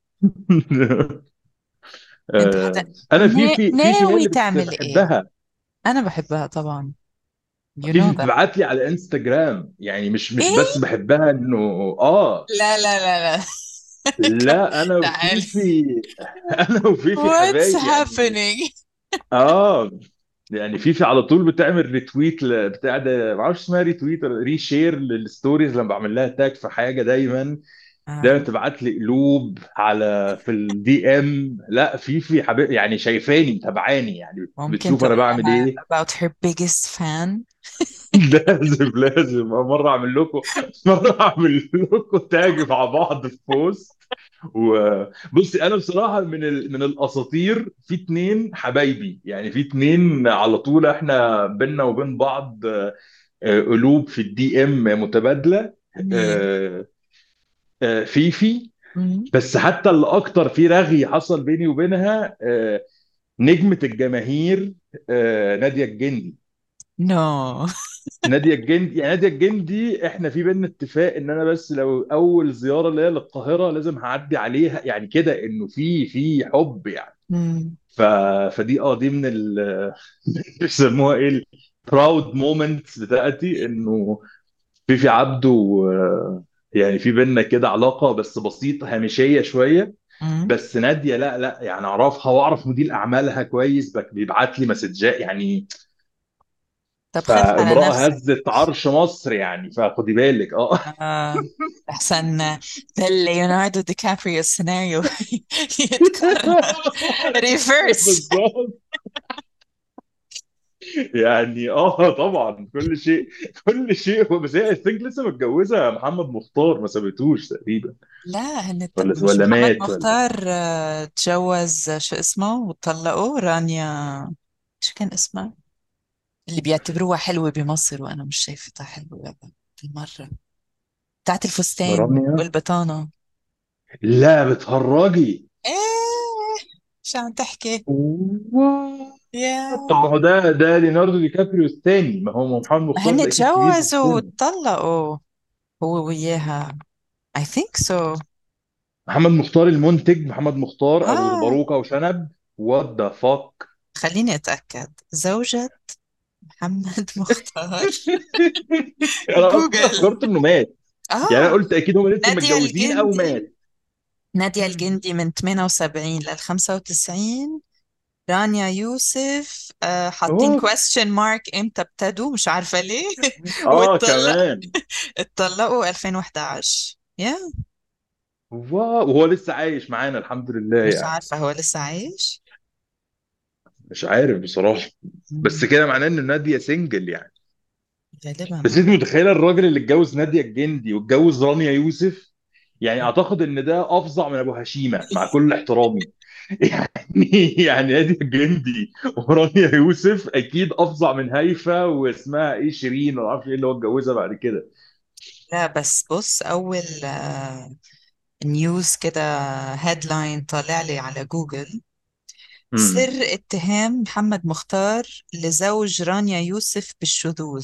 انت حتى آه، انا نا... فيفي فيفي هي ناوي اللي كنت تعمل ايه؟ بحبها. انا بحبها طبعا. you فيفي know that. بتبعت لي على انستجرام يعني، مش مش بس ايه؟ بحبها انه اه. لا لا لا لا. لا انا تعال. وفيفي انا وفيفي what's حبايب يعني. happening. اه يعني فيفي على طول بتعمل ريتويت ل- بتاع ده، ما اعرفش اسمها ريتويت ولا ريشير للستوريز لما بعمل لها تاج في حاجه دايما. دايما آه. تبعت لي قلوب على في الدي ام. لا فيفي حبيب يعني، شايفاني متابعاني يعني، ممكن بتشوف تقول انا بعمل لها ايه. about her biggest fan. لازم لازم مره اعمل لكم مره اعمل لكم تاج مع بعض في بوست. وبصي انا بصراحه من ال... من الاساطير في اتنين حبايبي يعني، في اتنين على طول احنا بينا وبين بعض آه، آه، قلوب في الدي ام متبادله. مين؟ آه، آه، فيفي. مم. بس حتى اللي اكتر في رغي حصل بيني وبينها آه، نجمة الجماهير آه، نادية الجندي. no. نادية الجندي يعني، نادية الجندي احنا في بينا اتفاق ان انا بس لو اول زيارة ليا للقاهرة لازم هعدي عليها يعني، كده انه في في حب يعني. مم. ف... فدي اه دي من ال بيسموها ايه، البراود مومنتس بتاعتي، انه في في عبده آه، يعني في بينا كده علاقة بس بسيطة هامشية شوية. مم. بس نادية لا لا يعني اعرفها واعرف مدير اعمالها كويس، بك- بيبعت لي مسجات يعني. طب خف على فامرأة نفسك. هزت عرش مصر يعني، فخدي بالك اه. آه. أحسن ده ليوناردو دي كابريو السيناريو يتكرر ريفيرس. بالظبط. يعني اه طبعا كل شيء كل شيء هو، بس هي I think لسه متجوزة محمد مختار، ما سابتوش تقريبا. لا هن الت- ولا مش ولا محمد مات ولا. مختار آه، تجوز آه، شو اسمه وطلقوا رانيا. شو كان اسمها اللي بيعتبروها حلوة بمصر وأنا مش شايفتها حلوة أبدا بالمرة؟ بتاعت الفستان رانيا. والبطانة. لا بتهرجي. ايه شو عم تحكي؟ واو. يا طب ما هو ده ده ليوناردو دي كابريو الثاني، ما هو محمد ما مختار هن ده اكيد كبير في تجوزوا السن. واتطلقوا هو وياها. I think so. محمد مختار المنتج، محمد مختار ابو اه باروكه وشنب. وات ذا فاك. خليني اتأكد. زوجة محمد مختار. انا اصلا جوجل. افتكرت انه مات. يعني انا اه قلت اكيد هم لسه نادية متجوزين او الجندي. مات. نادية الجندي من ثمانية وسبعين لل خمسة وتسعين. رانيا يوسف آه حاطين اوف. question mark امتى ابتدوا مش عارفة ليه. اه واتطلق كمان. اتطلقوا ألفين وحداشر. يا واو، وهو لسه عايش معانا الحمد لله مش يعني. عارفة هو لسه عايش. مش عارف بصراحه. بس مم. كده معناه ان ناديه سنجل يعني. غالبا بس اه. انت متخيله الراجل اللي اتجوز ناديه الجندي واتجوز رانيا يوسف؟ يعني اعتقد ان ده افظع من ابو هشيمه مع كل احترامي. يعني يعني ناديه الجندي ورانيا يوسف اكيد افظع من هيفا واسمها ايه شيرين ولا عارف ايه اللي هو اتجوزها بعد كده. لا بس بص أول آه نيوز كده هيدلاين طالع لي على جوجل. امم. سر اتهام محمد مختار لزوج رانيا يوسف بالشذوذ.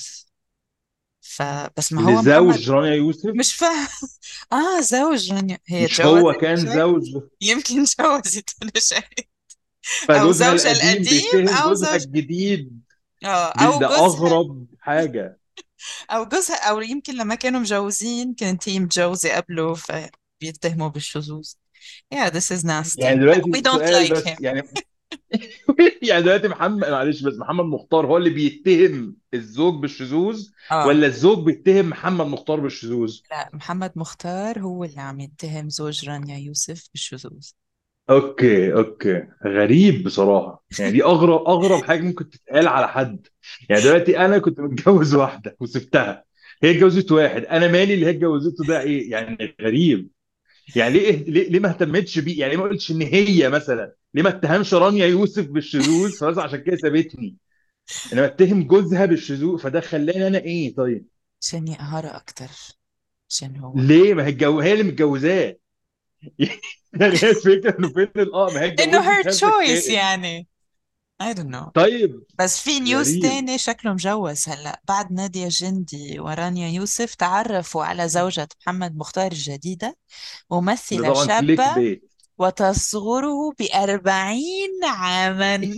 فبس ما هو محمد لزوج رانيا يوسف. مش فاهم. اه زوج رانيا هي مش اتجوزت هو كان مش عارف. زوج؟ يمكن اتجوزت ولا شيء. او فجوزها زوجها القديم القديم بيتهم او جوزها زوج. الجديد. اه دي او ده جوزها. اغرب حاجه. او جوزها او يمكن لما كانوا مجوزين كانت هي متجوزة قبله فبيتهموا بالشذوذ. Yeah, this is يعني nasty. We دلوقتي don't سؤال like him. بس يعني. يعني دلوقتي محمد معلش بس محمد مختار هو اللي بيتهم الزوج بالشذوذ، اه ولا الزوج بيتهم محمد مختار بالشذوذ؟ لا محمد مختار هو اللي عم يتهم زوج رانيا يوسف بالشذوذ. اوكي اوكي، غريب بصراحه. يعني دي اغرب اغرب حاجه ممكن تتقال على حد. يعني دلوقتي انا كنت متجوز واحده وسبتها، هي اتجوزت واحد، انا مالي اللي هي اتجوزته ده ايه يعني؟ غريب. يعني ليه ليه ليه ما اهتمتش بيه؟ يعني ليه ما قلتش ان هي مثلا، ليه ما اتهمش رانيا يوسف بالشذوذ فبس عشان كده سابتني، انما اتهم جوزها بالشذوذ فده خلاني انا ايه طيب؟ عشان يقهرها اكتر. عشان هو ليه؟ ما هي الجو... هي اللي متجوزاه. يعني هي الفكره انه فين الاه ما هي انه her اتجوزت هذا choice الكائن. يعني. I don't know. طيب. بس في نيوز غريب. تاني شكله مجوز هلا بعد نادية جندي ورانيا يوسف تعرفوا على زوجة محمد مختار الجديدة ده ممثلة طبعا كليك شابة بيت. وتصغره بأربعين عاما.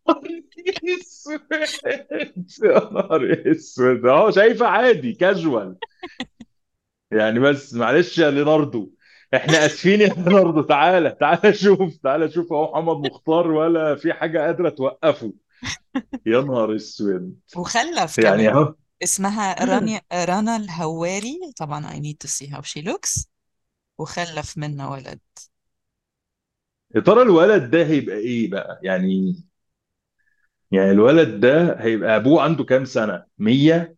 اسود. يا نهار اسود، اهو شايفه عادي كاجوال. يعني بس معلش يا ليناردو، احنا اسفين يا ليناردو، تعالى تعالى شوف، تعالى شوف اهو محمد مختار ولا في حاجه قادره توقفه. يا نهار اسود. وخلف يعني كمان. اهو. اسمها رانيا رنا الهواري طبعا. I need to see how she looks. وخلف منها ولد. يا ترى الولد ده هيبقى ايه بقى يعني؟ يعني الولد ده هيبقى ابوه عنده كام سنه؟ مية؟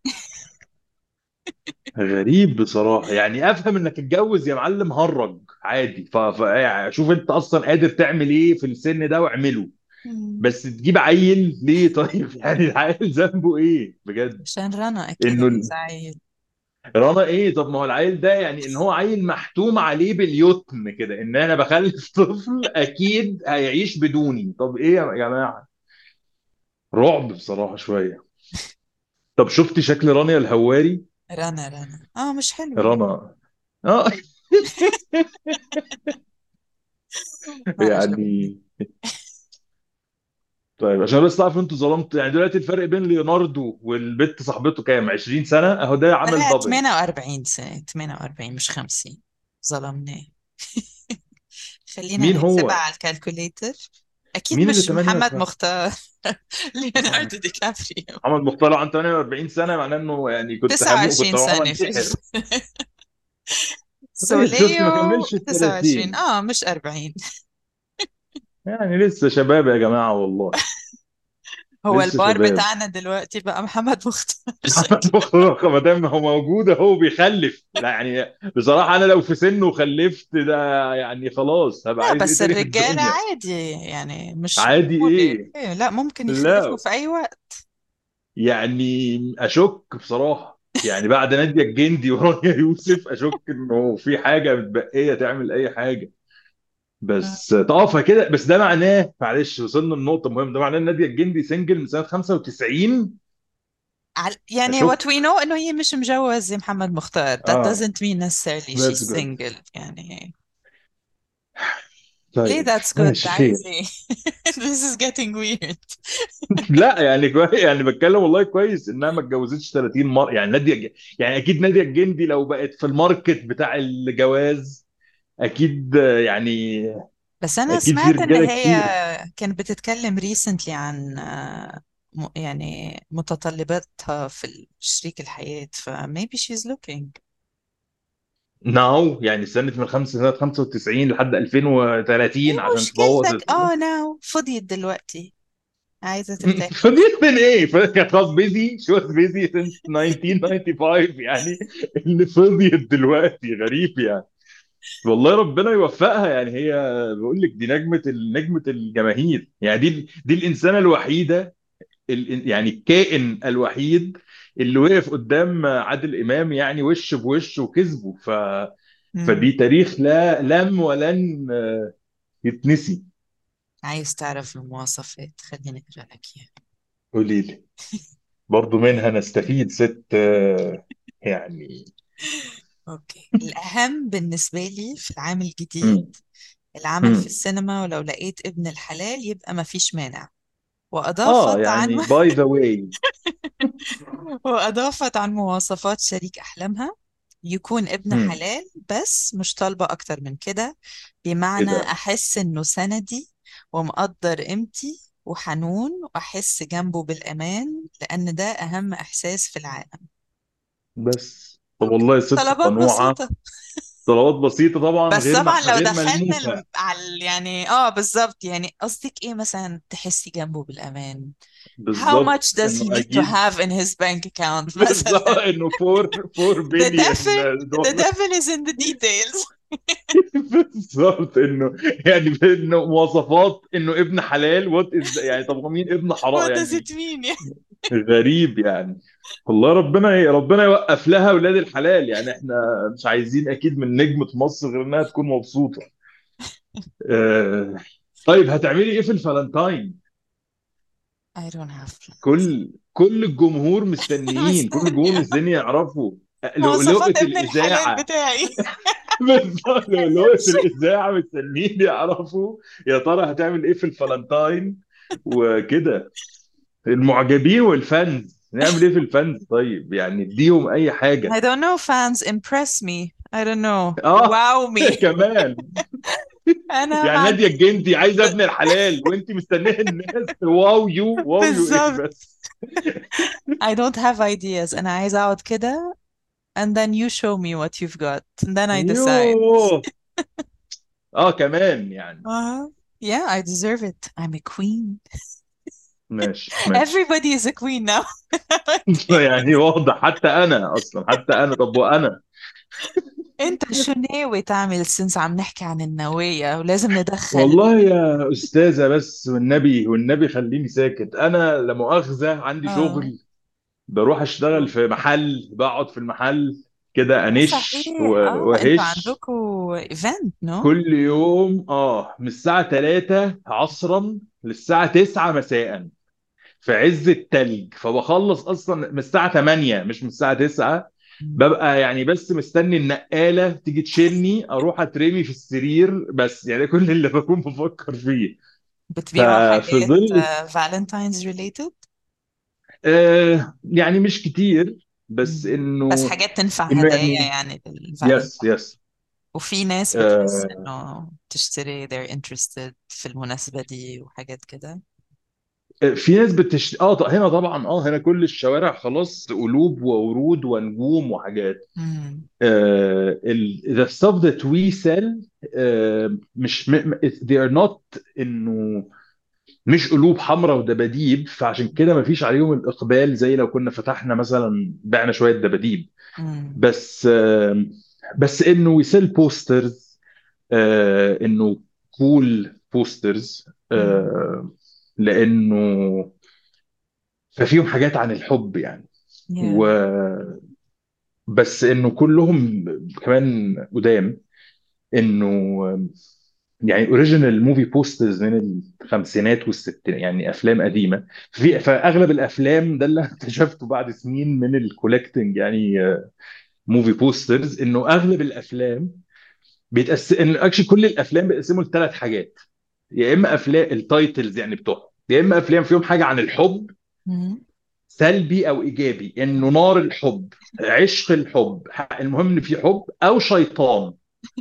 غريب بصراحه. يعني افهم انك اتجوز يا معلم هرج عادي، ف... ف... يعني شوف انت اصلا قادر تعمل ايه في السن ده واعمله. مم. بس تجيب عيل ليه طيب؟ يعني العيل ذنبه ايه بجد؟ عشان رنا أكيد انه عايزة عيل. رنا ايه؟ طب ما هو العيل ده يعني ان هو عيل محتوم عليه باليتم كده، ان انا بخلف طفل اكيد هيعيش بدوني. طب ايه يا جماعه؟ رعب بصراحه شويه. طب شفتي شكل رانيا الهواري؟ رنا رنا اه مش حلوة. رنا. اه. ما عجبتني. يعني طيب عشان بس تعرف انتوا ظلمتوا. يعني دلوقتي الفرق بين ليوناردو والبت صاحبته كام؟ عشرين سنه، اهو ده عامل لا دبل. ثمانية وأربعين سنة. ثمانية وأربعين مش خمسين. ظلمناه. خلينا مين نحسبها هو؟ على الكالكوليتر. أكيد مين اللي مش محمد ثمانية؟ مختار. ليوناردو دي كابريو. محمد مختار عن ثمانية وأربعين سنه معناه انه يعني كنت هموت، كنت تسعة وعشرين هروح سنة في انتحر. طيب شفت سوليو. ما كملش ال تسعة وعشرين ثلاثين. اه مش أربعين. يعني لسه شباب يا جماعه والله. هو لسه البار شباب. بتاعنا دلوقتي بقى محمد مختار. محمد مختار ما دام هو موجود اهو بيخلف، لا يعني بصراحه انا لو في سنه وخلفت ده يعني خلاص هبقى لا عايز ايه بس تاني في الرجالة الدنيا؟ عادي يعني مش عادي ضروري ايه؟ إيه لا ممكن يخلفوا لا في أي وقت. يعني اشك بصراحه، يعني بعد نادية الجندي ورانيا يوسف اشك انه في حاجه متبقيه تعمل اي حاجه. بس اه فكده، بس ده معناه، معلش وصلنا لنقطه مهمه، ده معناه ان نادية الجندي سنجل من سنه خمسة وتسعين. عل- يعني what اشك. we know إنه هي مش مجوزة محمد مختار. That اه doesn't mean necessarily she's that's good. single يعني. ليه طيب that's good ماشي خير. عايز ايه؟ This is getting weird. لا يعني كويس، يعني بتكلم والله كويس انها ما اتجوزتش ثلاثين مره، يعني نادية الج- يعني اكيد نادية الجندي لو بقت في الماركت بتاع الجواز اكيد آه، يعني بس أنا اكيد في سمعت إن رجاله هي كتير. كانت بتتكلم recently عن آه، م- يعني متطلباتها في شريك الحياة، ف maybe she's looking. ناو يعني سنه من خمسة سنه خمسة وتسعين لحد ألفين ايه وثلاثين عشان تبوظ مشكلتك؟ ال- اه ناو فضيت دلوقتي، عايزة ترتاح. فدي من ايه؟ كانت خلاص بيزي، شو بيزي since ألف وتسعمية وخمسة وتسعين يعني. اللي فضيت دلوقتي غريب يعني. والله ربنا يوفقها يعني. هي بقول لك دي نجمة ال- نجمة الجماهير يعني. دي دي الإنسانة الوحيدة، ال- يعني الكائن الوحيد اللي وقف قدام عادل إمام يعني وش بوش وكسبه. ف مم. فدي تاريخ لا لم ولن آه، يتنسي. عايز تعرف المواصفات؟ خليني اقرا لك اياها. قولي لي. برضو منها نستفيد ست آه، يعني. اوكي، الاهم بالنسبة لي في العام الجديد مم. العمل في مم. السينما، ولو لقيت ابن الحلال يبقى ما فيش مانع. اه وأضافت عن يعني باي ذا واي. وأضافت عن مواصفات شريك أحلامها: يكون ابن حلال بس مش طالبة أكتر من كده، ايه بمعنى ده؟ أحس إنه سندي ومقدر قيمتي وحنون، وأحس جنبه بالأمان، لأن ده أهم إحساس في العالم. بس طب أوكي، والله ست طلبات قنوعة. بسيطة. طلبات بسيطة طبعا، بس غير طبعا مح... لو غير دخلنا ملموسة. الم- على ال- يعني اه بالظبط، يعني قصدك ايه مثلا تحسي جنبه بالأمان؟ How much بالظبط does he انه need to اكيد. have in his bank account بالظبط مثلا؟ انه أربعة أربعة The بليون devil, the دولار. devil is in the details. بالظبط انه يعني انه مواصفات انه ابن حلال وات از يعني. طب هو مين ابن حرام What does يعني؟ it mean يعني؟ غريب يعني. والله ربنا ربنا يوقف لها اولاد الحلال يعني. احنا مش عايزين اكيد من نجمة مصر غير انها تكون مبسوطة. آه، طيب هتعملي ايه في الفالنتاين؟ I don't have plans. كل كل الجمهور بس مستنيين، كل الجمهور مستني يعرفوا مواصفات لؤلؤة ابن الحلال الإذاعة. بتاعي. بالظبط لؤلؤة الإذاعة مستنيين يعرفوا يا ترى هتعمل إيه في الفالنتاين وكده. المعجبين والفانز نعمل إيه في الفانز؟ طيب يعني اديهم أي I حاجة. don't know, fans impress me. I don't know. آه Wow me. كمان. أنا ما يعني نادية عندي. الجندي عايزة ابن الحلال وأنت مستنيه الناس واو يو واو يو إيه بالظبط. بس. I don't have ideas. أنا عايزة أقعد كده and then you show me what you've got and then I decide. يوه. اه كمان يعني. Uh, yeah, I deserve it. I'm a queen. ماشي ماشي. Everybody is a queen now. يعني واضح حتى انا اصلا، حتى انا. طب وانا؟ انت شو ناوي تعمل سنس عم نحكي عن النوايا ولازم ندخل؟ والله يا استاذه بس والنبي والنبي خليني ساكت. انا لا مؤاخذه عندي اه شغل، بروح اشتغل في محل، بقعد في المحل كده انش صحيح، و- اه انتوا وهش عندكم ايفنت نو؟ كل يوم. اه من الساعه ثلاثة عصرا للساعه تسعة مساء في عز التلج. فبخلص اصلا من الساعه تمانية مش من الساعه تسعة. ببقى يعني بس مستني النقاله تيجي تشيلني اروح اترمي في السرير بس. يعني كل اللي بكون بفكر فيه. بتبيعوا ففي حاجات ظل فالنتاينز ريليتد؟ آه يعني مش كتير بس بس انه حاجات تنفع انه هدايا يعني يعني للفالنتاين؟ يس يس. وفي ناس بتحس آه انه تشتري they're interested في المناسبة دي وحاجات كده. في ناس بتشت... اه ط- هنا طبعا اه هنا كل الشوارع خلاص قلوب وورود ونجوم وحاجات. مم. uh, ال- the stuff that we sell uh, مش م, م- they are not انه مش قلوب حمراء ودباديب. فعشان كده ما فيش عليهم الاقبال زي لو كنا فتحنا مثلا بعنا شويه دباديب. مم. بس uh, بس انه we sell posters. uh, انه cool posters. مم. uh, لانه ففيهم حاجات عن الحب يعني. و Yeah. بس انه كلهم كمان قدام. انه يعني اوريجينال موفي بوسترز من الخمسينات والستينات، يعني افلام قديمه. في فاغلب الافلام ده اللي أنا اكتشفته بعد سنين من الكولكتنج، يعني موفي بوسترز، انه اغلب الافلام بيتقسم، ان اكشلي كل الافلام بيتقسموا لثلاث حاجات. يا اما افلام التايتلز يعني بتوعهم، يا اما افلام فيهم حاجه عن الحب، مم. سلبي او ايجابي، انه نار الحب، عشق الحب، المهم ان في حب، او شيطان،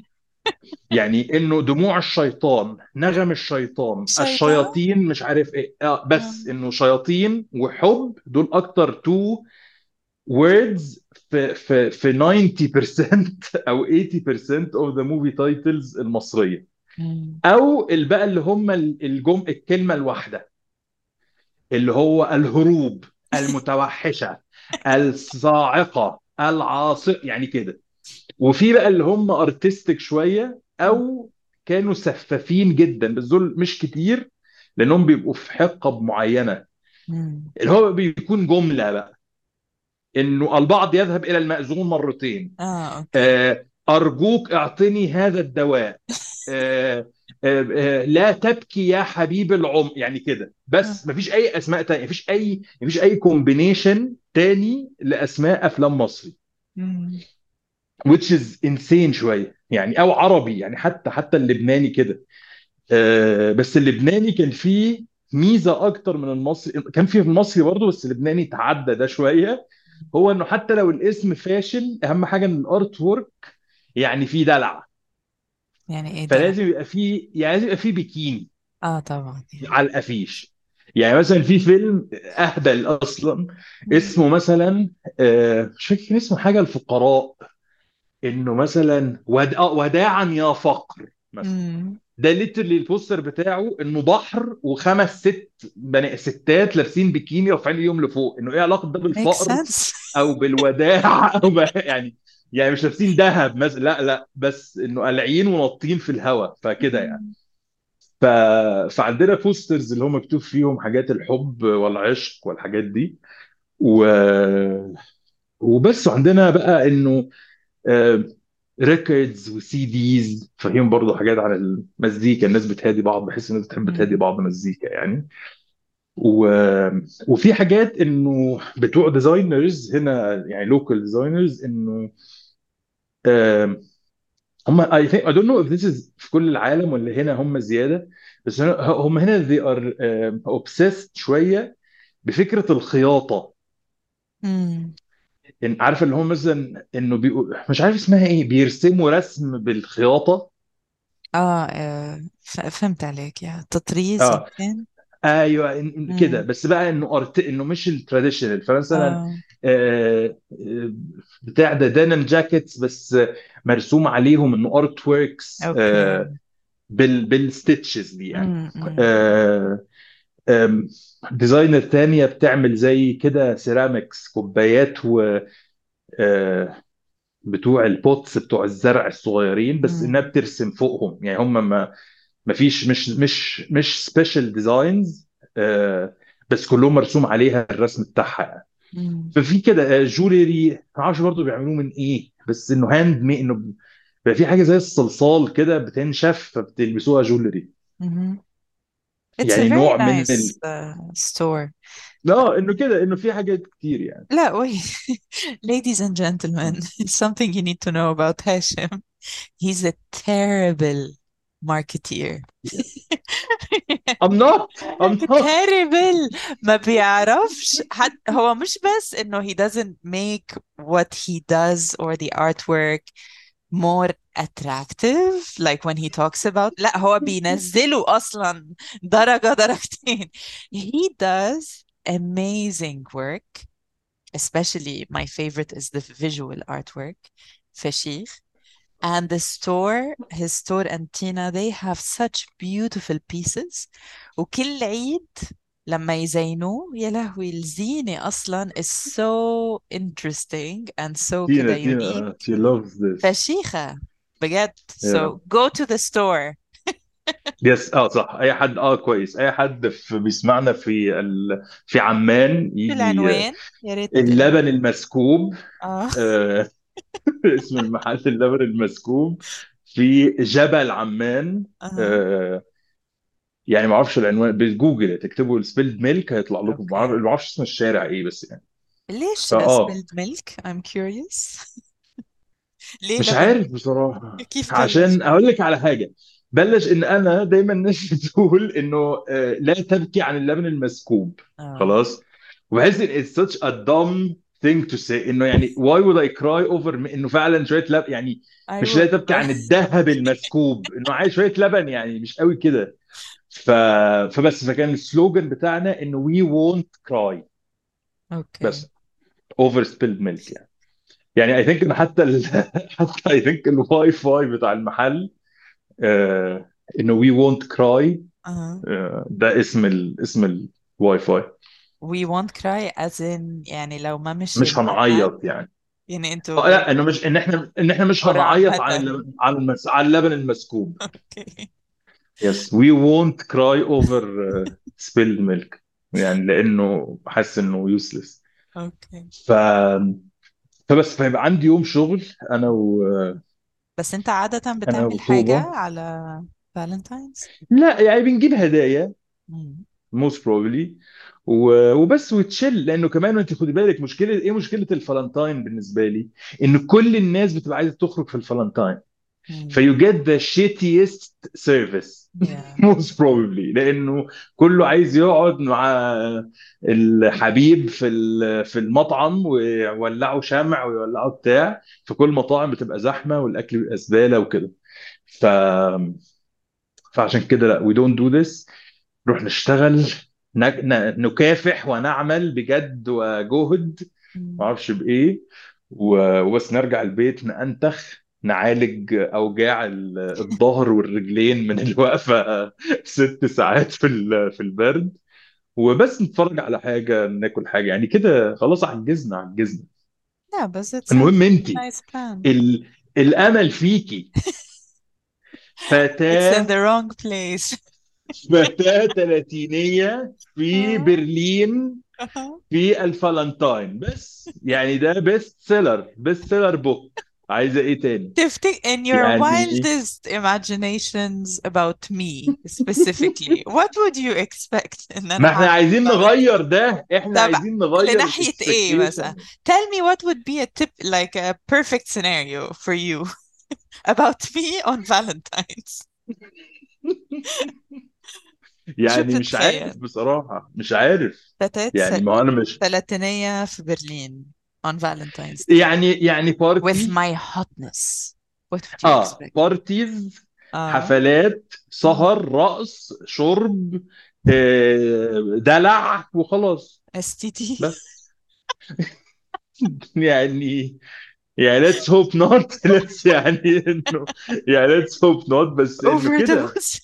يعني انه دموع الشيطان، نغم الشيطان، شيطان. الشياطين، مش عارف ايه، آه بس آه. انه شياطين وحب دول اكتر تو words في في في تسعين بالمية او ثمانين بالمية of the movie titles المصريه. مم. او اللي بقى اللي هم الجم الكلمه الواحده، اللي هو الهروب، المتوحشه، الصاعقه، العاصفه، يعني كده. وفي بقى اللي هم ارتستيك شويه، او كانوا سفافين جدا، بس دول مش كتير لانهم بيبقوا في حقب معينه، مم. اللي هو بيكون جمله بقى، انه البعض يذهب الى المأذون مرتين، اه، اوكي. آه، ارجوك اعطني هذا الدواء، آه، آه، آه، لا تبكي يا حبيب العمر، يعني كده. آه. بس مفيش اي اسماء تانية، مفيش اي مفيش اي كومبينيشن تاني لاسماء افلام مصري، مم. which is insane شويه يعني، او عربي يعني، حتى حتى اللبناني كده. آه، بس اللبناني كان فيه ميزه اكتر من المصري، كان فيه المصري برضه، بس اللبناني تعدى ده شويه. هو انه حتى لو الاسم فاشل، اهم حاجه ان الارت وورك يعني فيه دلع. يعني ايه ده؟ فلازم يبقى فيه، يعني لازم يبقى فيه بيكيني اه، طبعا يعني. على الافيش. يعني مثلا في فيلم اهبل اصلا مم. اسمه مثلا، آه، مش فاكر كان اسمه حاجه الفقراء، انه مثلا ود... آه، وداعا يا فقر مثلا. مم. ده ليترلي البوستر بتاعه انه بحر وخمس ست بني ستات لابسين بيكيني رافعين ايديهم لفوق، انه ايه علاقه ده make بالفقر sense. او بالوداع او ب... يعني، يعني مش لابسين ذهب مثلا، لا لا، بس انه قالعين ونطين في الهواء فكده يعني. مم. ف... فعندنا بوسترز اللي هو مكتوب فيهم حاجات الحب والعشق والحاجات دي، و... وبس. وعندنا بقى انه ريكوردز وسي ديز فيهم برضو حاجات عن المزيكا، الناس بتهادي بعض، بحس الناس بتحب تهادي مم. بعض مزيكا يعني. و... وفي حاجات انه بتوع ديزاينرز هنا، يعني لوكال ديزاينرز، انه آم، هم I think I don't know if this is في كل العالم ولا هنا هم زيادة، بس هنا- هم هنا they are um, obsessed شوية بفكرة الخياطة. مم. إن عارف اللي هم مثلا انه بيقول مش عارف اسمها ايه، بيرسموا رسم بالخياطة. اه، آه، ف- فهمت عليك، يا تطريز اه يمكن. ايوه، إن- كده. مم. بس بقى انه أرت... انه مش التراديشنال، فمثلا اه، آه، آه، بتاع ده دانم جاكيتس، بس مرسوم عليهم انه ارت ووركس اوكي. بال بالستitches دي يعني. مم. مم. آه، آم، ديزاينر تانية بتعمل زي كده سيراميكس، كوبايات، و آه، بتوع البوتس بتوع الزرع الصغيرين، بس انها مم. بترسم فوقهم، يعني هم ما ما فيش مش مش مش سبيشال ديزاينز، بس كلهم مرسوم عليها الرسم بتاعها يعني. مم. ففي كده جولري، ما اعرفش برضه بيعملوه من ايه، بس انه هاند مي، انه بقى في حاجه زي الصلصال كده بتنشف فبتلبسوها جولري. مم. It's a يعني very نوع من nice ال... uh, store. لا انه كده، انه في حاجات كتير يعني. لا wait. Ladies and gentlemen, something you need to know about Hashim. He's a terrible marketeer. I'm not I'm not terrible. ما بيعرفش حد. هو مش بس انه he doesn't make what he does or the artwork more attractive like when he talks about. لا، هو بينزله اصلا درجة درجتين. He does amazing work, especially my favorite is the visual artwork. فشيخ. And the store, his store and Tina, they have such beautiful pieces. وكل عيد لما يزينوه، يا لهوي، الزينة أصلا is so interesting and so تينا كده تينا uh, unique. she loves this. فشيخة بجد. yeah. So go to the store. يس اه صح، اي حد اه كويس، اي حد في بيسمعنا في ال... في عمان شو يجي. آه، العنوان؟ يا ريت العنوان. اللبن المسكوب، اه. آه، اسم المحل اللبن المسكوب في جبل عمان. اها. آه، يعني ما اعرفش العنوان، بجوجل تكتبوا السبيلد ميلك هيطلع لكم، ما اعرف اوكي. ما اعرفش اسم الشارع ايه بس يعني. ليش فاه spilled milk I'm curious. ليه مش لبن؟ عارف بصراحة. كيف بلش؟ عشان اقول لك على حاجة، بلش ان انا دايما الناس بتقول انه آه، لا تبكي عن اللبن المسكوب. اه. خلاص. وبحس ان it's such a dumb thing to say، انه يعني why would I cry over م- انه فعلا شوية لبن يعني. I مش لا would. تبكي عن الذهب المسكوب، انه عايز شوية لبن يعني، مش قوي كده. ف... فبس فكان السلوجان بتاعنا انه we won't cry. اوكي. بس over spilled milk يعني. يعني اي ثينك ان حتى ال... حتى اي ثينك الواي فاي بتاع المحل آه، انه وي وونت كراي. اها. ده اسم ال... اسم الواي فاي. we won't cry as in يعني لو ما مشي مش المحل، هنعيط يعني. يعني اه انتوا لا، انه مش ان احنا ان احنا مش or هنعيط عن عامة. اللبن، عن المس... عن اللبن المسكوب. اوكي. يس وي وونت كراي اوفر سبيلد ميلك، يعني لانه حاسس انه يوسلس. اوكي. ف فبس فيبقى عندي يوم شغل انا و... بس انت عادة انا بتعمل حاجة وطوبة. على فالنتاينز؟ لا يعني بنجيب هدايا موست بروبلي وبس وتشيل، لانه كمان انت خدي بالك مشكله ايه، مشكله الفالنتاين بالنسبه لي ان كل الناس بتبقى عايزه تخرج في الفالنتاين. فيو جيت ذا شيتيست سيرفيس yeah. موست بروبلي، لانه كله عايز يقعد مع الحبيب في ال- في المطعم ويولعوا شمع ويولعوا بتاع. فكل المطاعم بتبقى زحمه والاكل بيبقى زباله وكده. ف فعشان كده لا we don't do this. نروح نشتغل، ن- ن- نكافح ونعمل بجد وجهد، ما مم. اعرفش بايه، و- وبس نرجع البيت نأنتخ نعالج اوجاع ال- الظهر والرجلين من الوقفه ست ساعات في ال- في البرد، وبس نتفرج على حاجه ناكل حاجه يعني كده. خلاص عجزنا عجزنا. Yeah, بس it sounds المهم like انت، a nice plan. ال... الامل فيكي It's in فتاه، the wrong place. فتاه ثلاثينيه في آه. برلين آه. في الفالنتاين بس، يعني ده بيست سيلر، بيست سيلر بوك. عايزه ايه تاني تفتكر in your يعني؟ wildest imaginations about me specifically what would you expect ان ما انا احنا هعمل في عايزين فالنتين؟ نغير ده، احنا طب عايزين نغير لناحية ايه مثلا؟ الاكسبكتيشن. tell me what would be a tip like a perfect scenario for you about me on Valentine's. شو يعني مش عارف بتتخيل؟ بصراحه، مش عارف. فتاة س... يعني ما انا مش ثلاثينية في برلين on Valentine's Day يعني يعني with بارتي. my hotness. What would you اه expect? بارتيز، اه. حفلات، اه. سهر، رقص، شرب، آه، دلع وخلاص. اس تي تي. بس يعني يعني let's hope not let's يعني انه يعني let's hope not بس انه كده. overdose.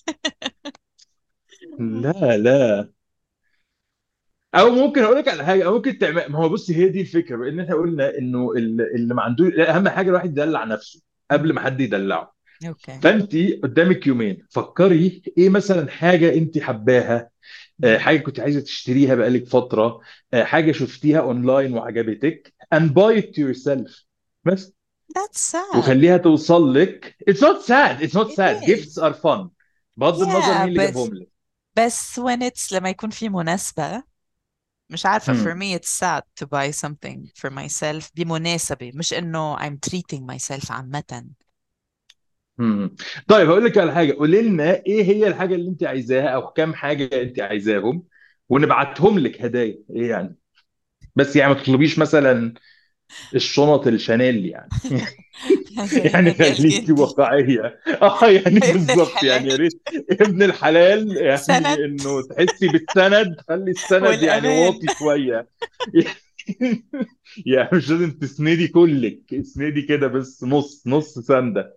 لا لا. او ممكن اقول لك على حاجه، أو ممكن تعمل، ما هو بصي هي دي الفكره، بان احنا قلنا انه ال- اللي ما عندوش، لا، اهم حاجه الواحد يدلع نفسه قبل ما مم. حد يدلعه. اوكي. فانت قدامك يومين، فكري ايه مثلا حاجه انت حباها، آه، مم. حاجه كنت عايزه تشتريها بقالك فتره، آه، حاجه شفتيها اونلاين وعجبتك and buy it to yourself بس. That's sad. وخليها توصل لك. It's not sad, it's not It sad, gifts is. are fun بغض النظر Yeah, مين اللي بس جابهم لك. بس when it's لما يكون في مناسبة، مش عارفة for مم. me it's sad to buy something for myself بمناسبة، مش إنه I'm treating myself عامة. مم. طيب هقول لك على حاجه، قولي لنا ايه هي الحاجه اللي انت عايزاها او كام حاجه انت عايزاهم ونبعتهم لك هدايا ايه يعني. بس يعني ما تطلبيش مثلا الشنط الشانيل يعني. زي يعني نادية خليكي الجندي. واقعيه. اه يعني ابن بالظبط يعني، يا الحلال. ريت ابن الحلال سند. يعني انه تحسي بالسند، خلي السند يعني والأمان. واطي شويه. يعني مش لازم تسندي كلك، اسندي كده بس نص نص سنده.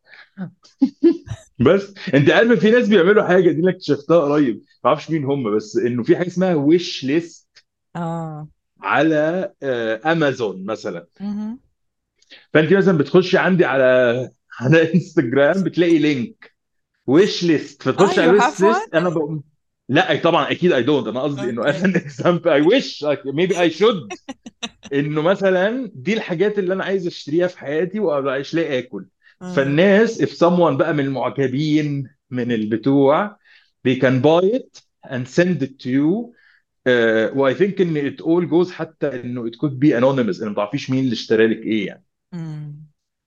بس انت عارف في ناس بيعملوا حاجه دي، انا اكتشفتها قريب، ما اعرفش مين هم، بس انه في حاجه اسمها ويش ليست اه. على آه، امازون مثلا. مهم. فانت مثلا بتخشي عندي على على انستجرام بتلاقي لينك ويش ليست، اه فتخش على you الويش have one. ليست. انا بقوم، لا طبعا اكيد اي دونت، انا قصدي انه اوكي. as an example I wish maybe I should، انه مثلا دي الحاجات اللي انا عايز اشتريها في حياتي وابقى مش لاقي اكل، آه. فالناس if someone بقى من المعجبين من البتوع they can buy it and send it to you. uh, و I think ان it all goes حتى انه it could be anonymous، انه ما تعرفيش مين اللي اشترى لك ايه يعني. مم.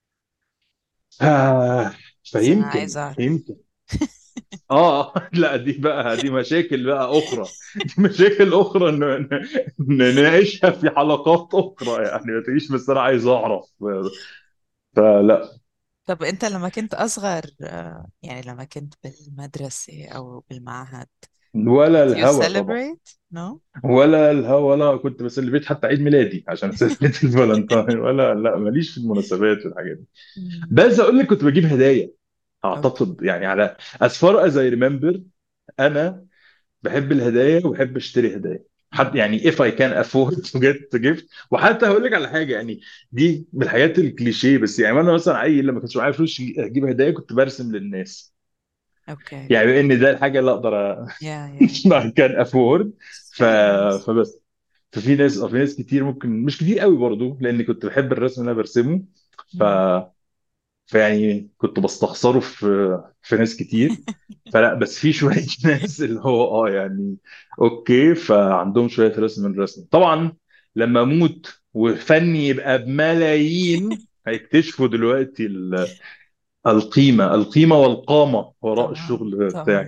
آه بس أنا فيمكن عايزة أعرف. يمكن اه لا دي بقى دي مشاكل بقى اخرى، دي مشاكل اخرى ن- ن- نناقشها في حلقات اخرى يعني، ما تجيش بس انا عايز اعرف. فلا. طب أنت لما كنت أصغر، آه، يعني لما كنت بالمدرسة أو بالمعهد، ولا did you الهوى طبعا. celebrate؟ No؟ ولا الهوى، ولا كنت بسلفيت حتى عيد ميلادي عشان سلفيت الفالنتاين، ولا لا ماليش في المناسبات والحاجات دي. مم. بس اقول لك كنت بجيب هدايا أوكي. اعتقد يعني، على as far as I remember انا بحب الهدايا وبحب اشتري هدايا حد مم. يعني if I can afford to get gift. وحتى هقول لك على حاجه يعني، دي من الحاجات الكليشيه بس يعني، انا مثلا عيل لما كنتش معايا فلوس اجيب هدايا كنت برسم للناس، أوكي. يعني بان ده الحاجه اللي اقدر Yeah, yeah. I can afford. It's ف... very nice. فبس. ففي ناس اه في ناس كتير ممكن مش كتير قوي برضو لاني كنت بحب الرسم اللي انا برسمه. ف مم. فيعني كنت بستخسره في في ناس كتير. فلا بس في شويه ناس اللي هو اه يعني اوكي، فعندهم شويه رسم من الرسم طبعا. لما اموت وفني يبقى بملايين هيكتشفوا دلوقتي ال- القيمه القيمه والقامه وراء طبعا الشغل طبعا. بتاعي.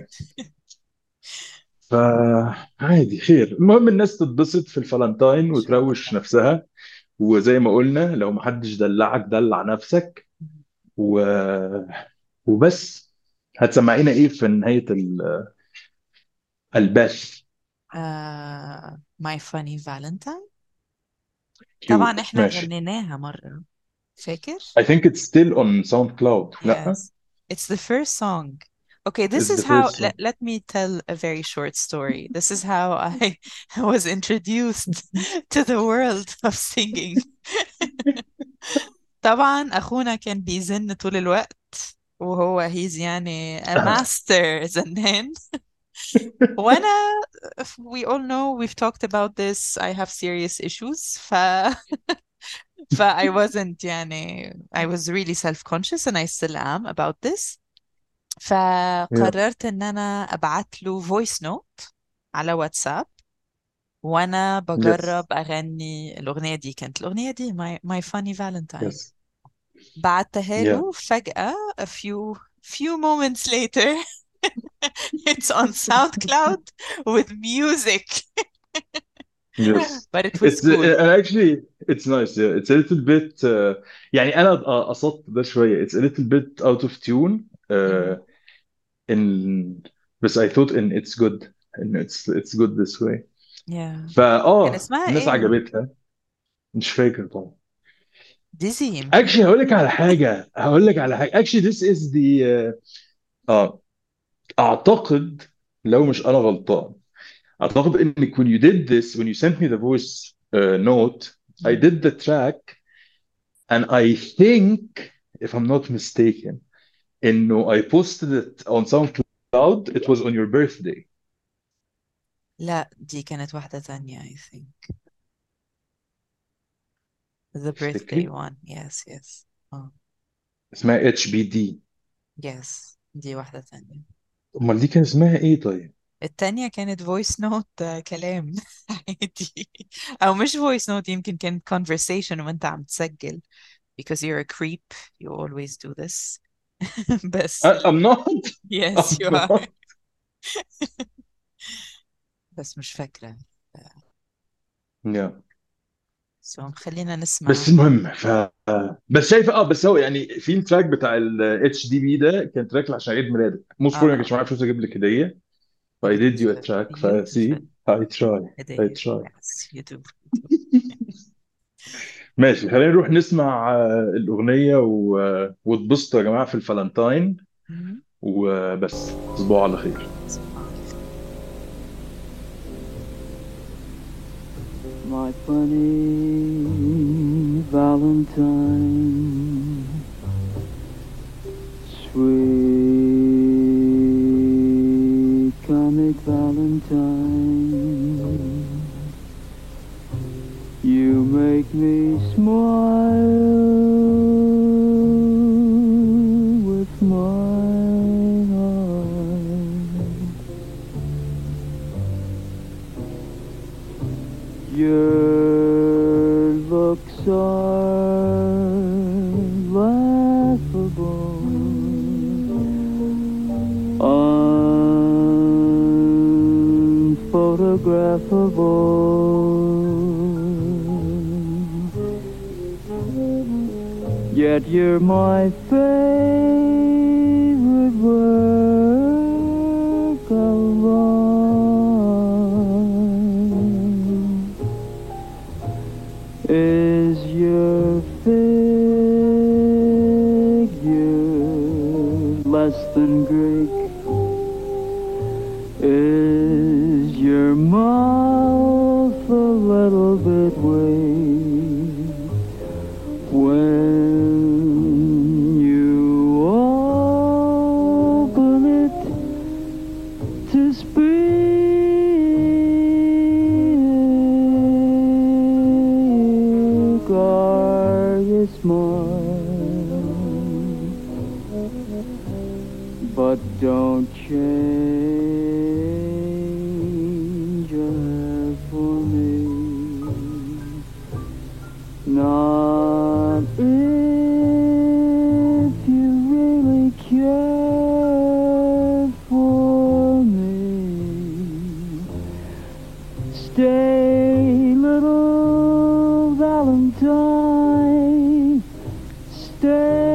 فعادي خير، المهم الناس تتبسط في إن الفالنتاين شاء وتروش الله. نفسها. وزي ما قلنا لو محدش دلعك دلع نفسك. مم. و... وبس. هتسمعينا ايه في نهاية ال- البث؟ آه My Funny Valentine. طبعا كيوت احنا ماشي. غنيناها مرة، فاكر؟ I think it's still on SoundCloud. لا. Yes. It's the first song. Okay, this It's is the how, first let, song. let me tell a very short story. This is how I was introduced to the world of singing. طبعا أخونا كان بيزن طول الوقت، وهو he's يعني a master زنان. وأنا, we all know we've talked about this, I have serious issues. ف ف I wasn't يعني I was really self-conscious and I still am about this. Yeah. فقررت ان انا ابعت له فويس نوت على واتساب وانا Yes. بجرب اغني الاغنيه دي. كانت الاغنيه دي my, my funny valentine. Yes. بعتها Yeah. له فجأة a few few moments later it's on SoundCloud with music. Yes. but it was It's uh, cool. and actually it's nice. Yeah. It's a little bit uh, يعني أنا قصدت ده شوية. It's a little bit out of tune. Uh, Mhm. in بس I thought in it's good and it's it's good this way. yeah. كان فاه اسمها الناس ايه؟ عجبتها. مش فاكر طبعا. ديزي يمكن. اكشلي هقول لك على حاجه هقول لك على حاجه اكشلي this is the اه آه، اعتقد لو مش انا غلطان اعتقد انك when you did this when you sent me the voice uh, note I مم. did the track and I think if I'm not mistaken انه I posted it on SoundCloud it was on your birthday. لا دي كانت واحدة تانية I think. The birthday تفتكري one. Yes, yes. Oh, اسمها اتش بي دي؟ yes. دي واحدة تانية. امال دي كان اسمها ايه طيب؟ التانية كانت voice note، آه، كلام عادي. أو مش voice note، يمكن كانت conversation وأنت عم تسجل because you're a creep. You always do this. بس I- I'm not. yes I'm you are. not. بس مش فاكرة. Yeah. so خلينا بس نسمع. المهم ف بس شايف اه بس هو يعني في التراك بتاع الاتش دي بي ده كان تراك عشان عيد ميلادك موست بروبلي ما اه كانش معايا فلوس اجيب لك هديه. ف I but it did was you a a track beautiful فسي I try I هدية. try. yes you do, you do. ماشي خلينا نروح نسمع آه، الأغنية و... واتبسطوا يا جماعة في الفالنتاين. مم. وبس تصبحوا على خير. صباح الخير. My funny Valentine, sweet comic Valentine, you make me smile Your looks are laughable, unphotographable. Yet you're my favorite work of art. Is your figure less than Greek? Is your mouth a little bit weak when you open it to speak? Are you smart? But don't change your hair for me. Not if you really care for me. Stay, little Valentine, stay.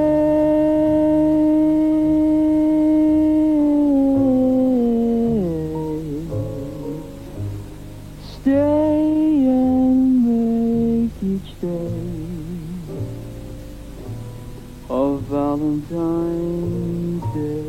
Stay and make each day of Valentine's Day.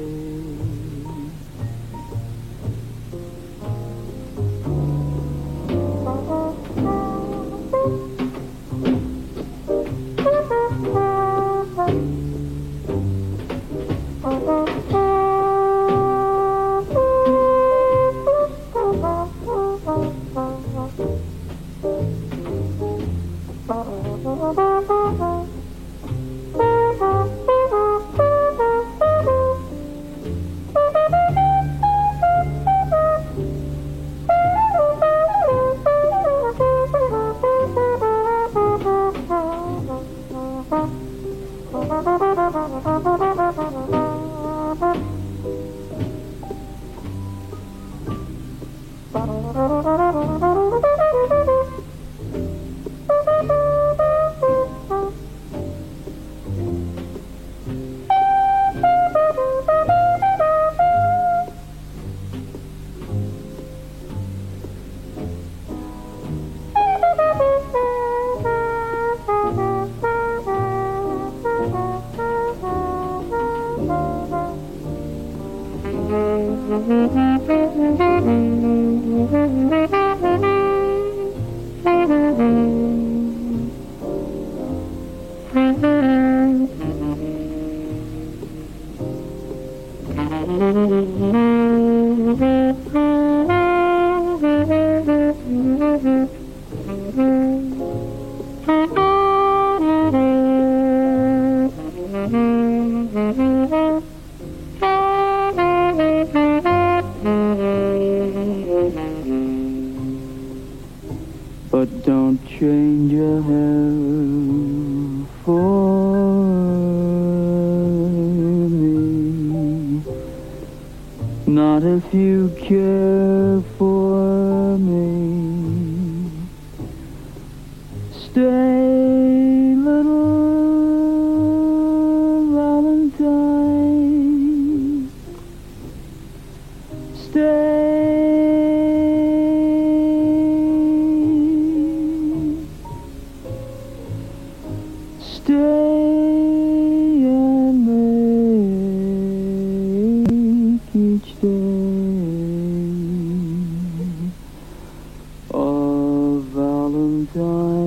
But don't change your hair for me. Not if you care for me. Stay, little Valentine. Stay. Stay and make each day of Valentine.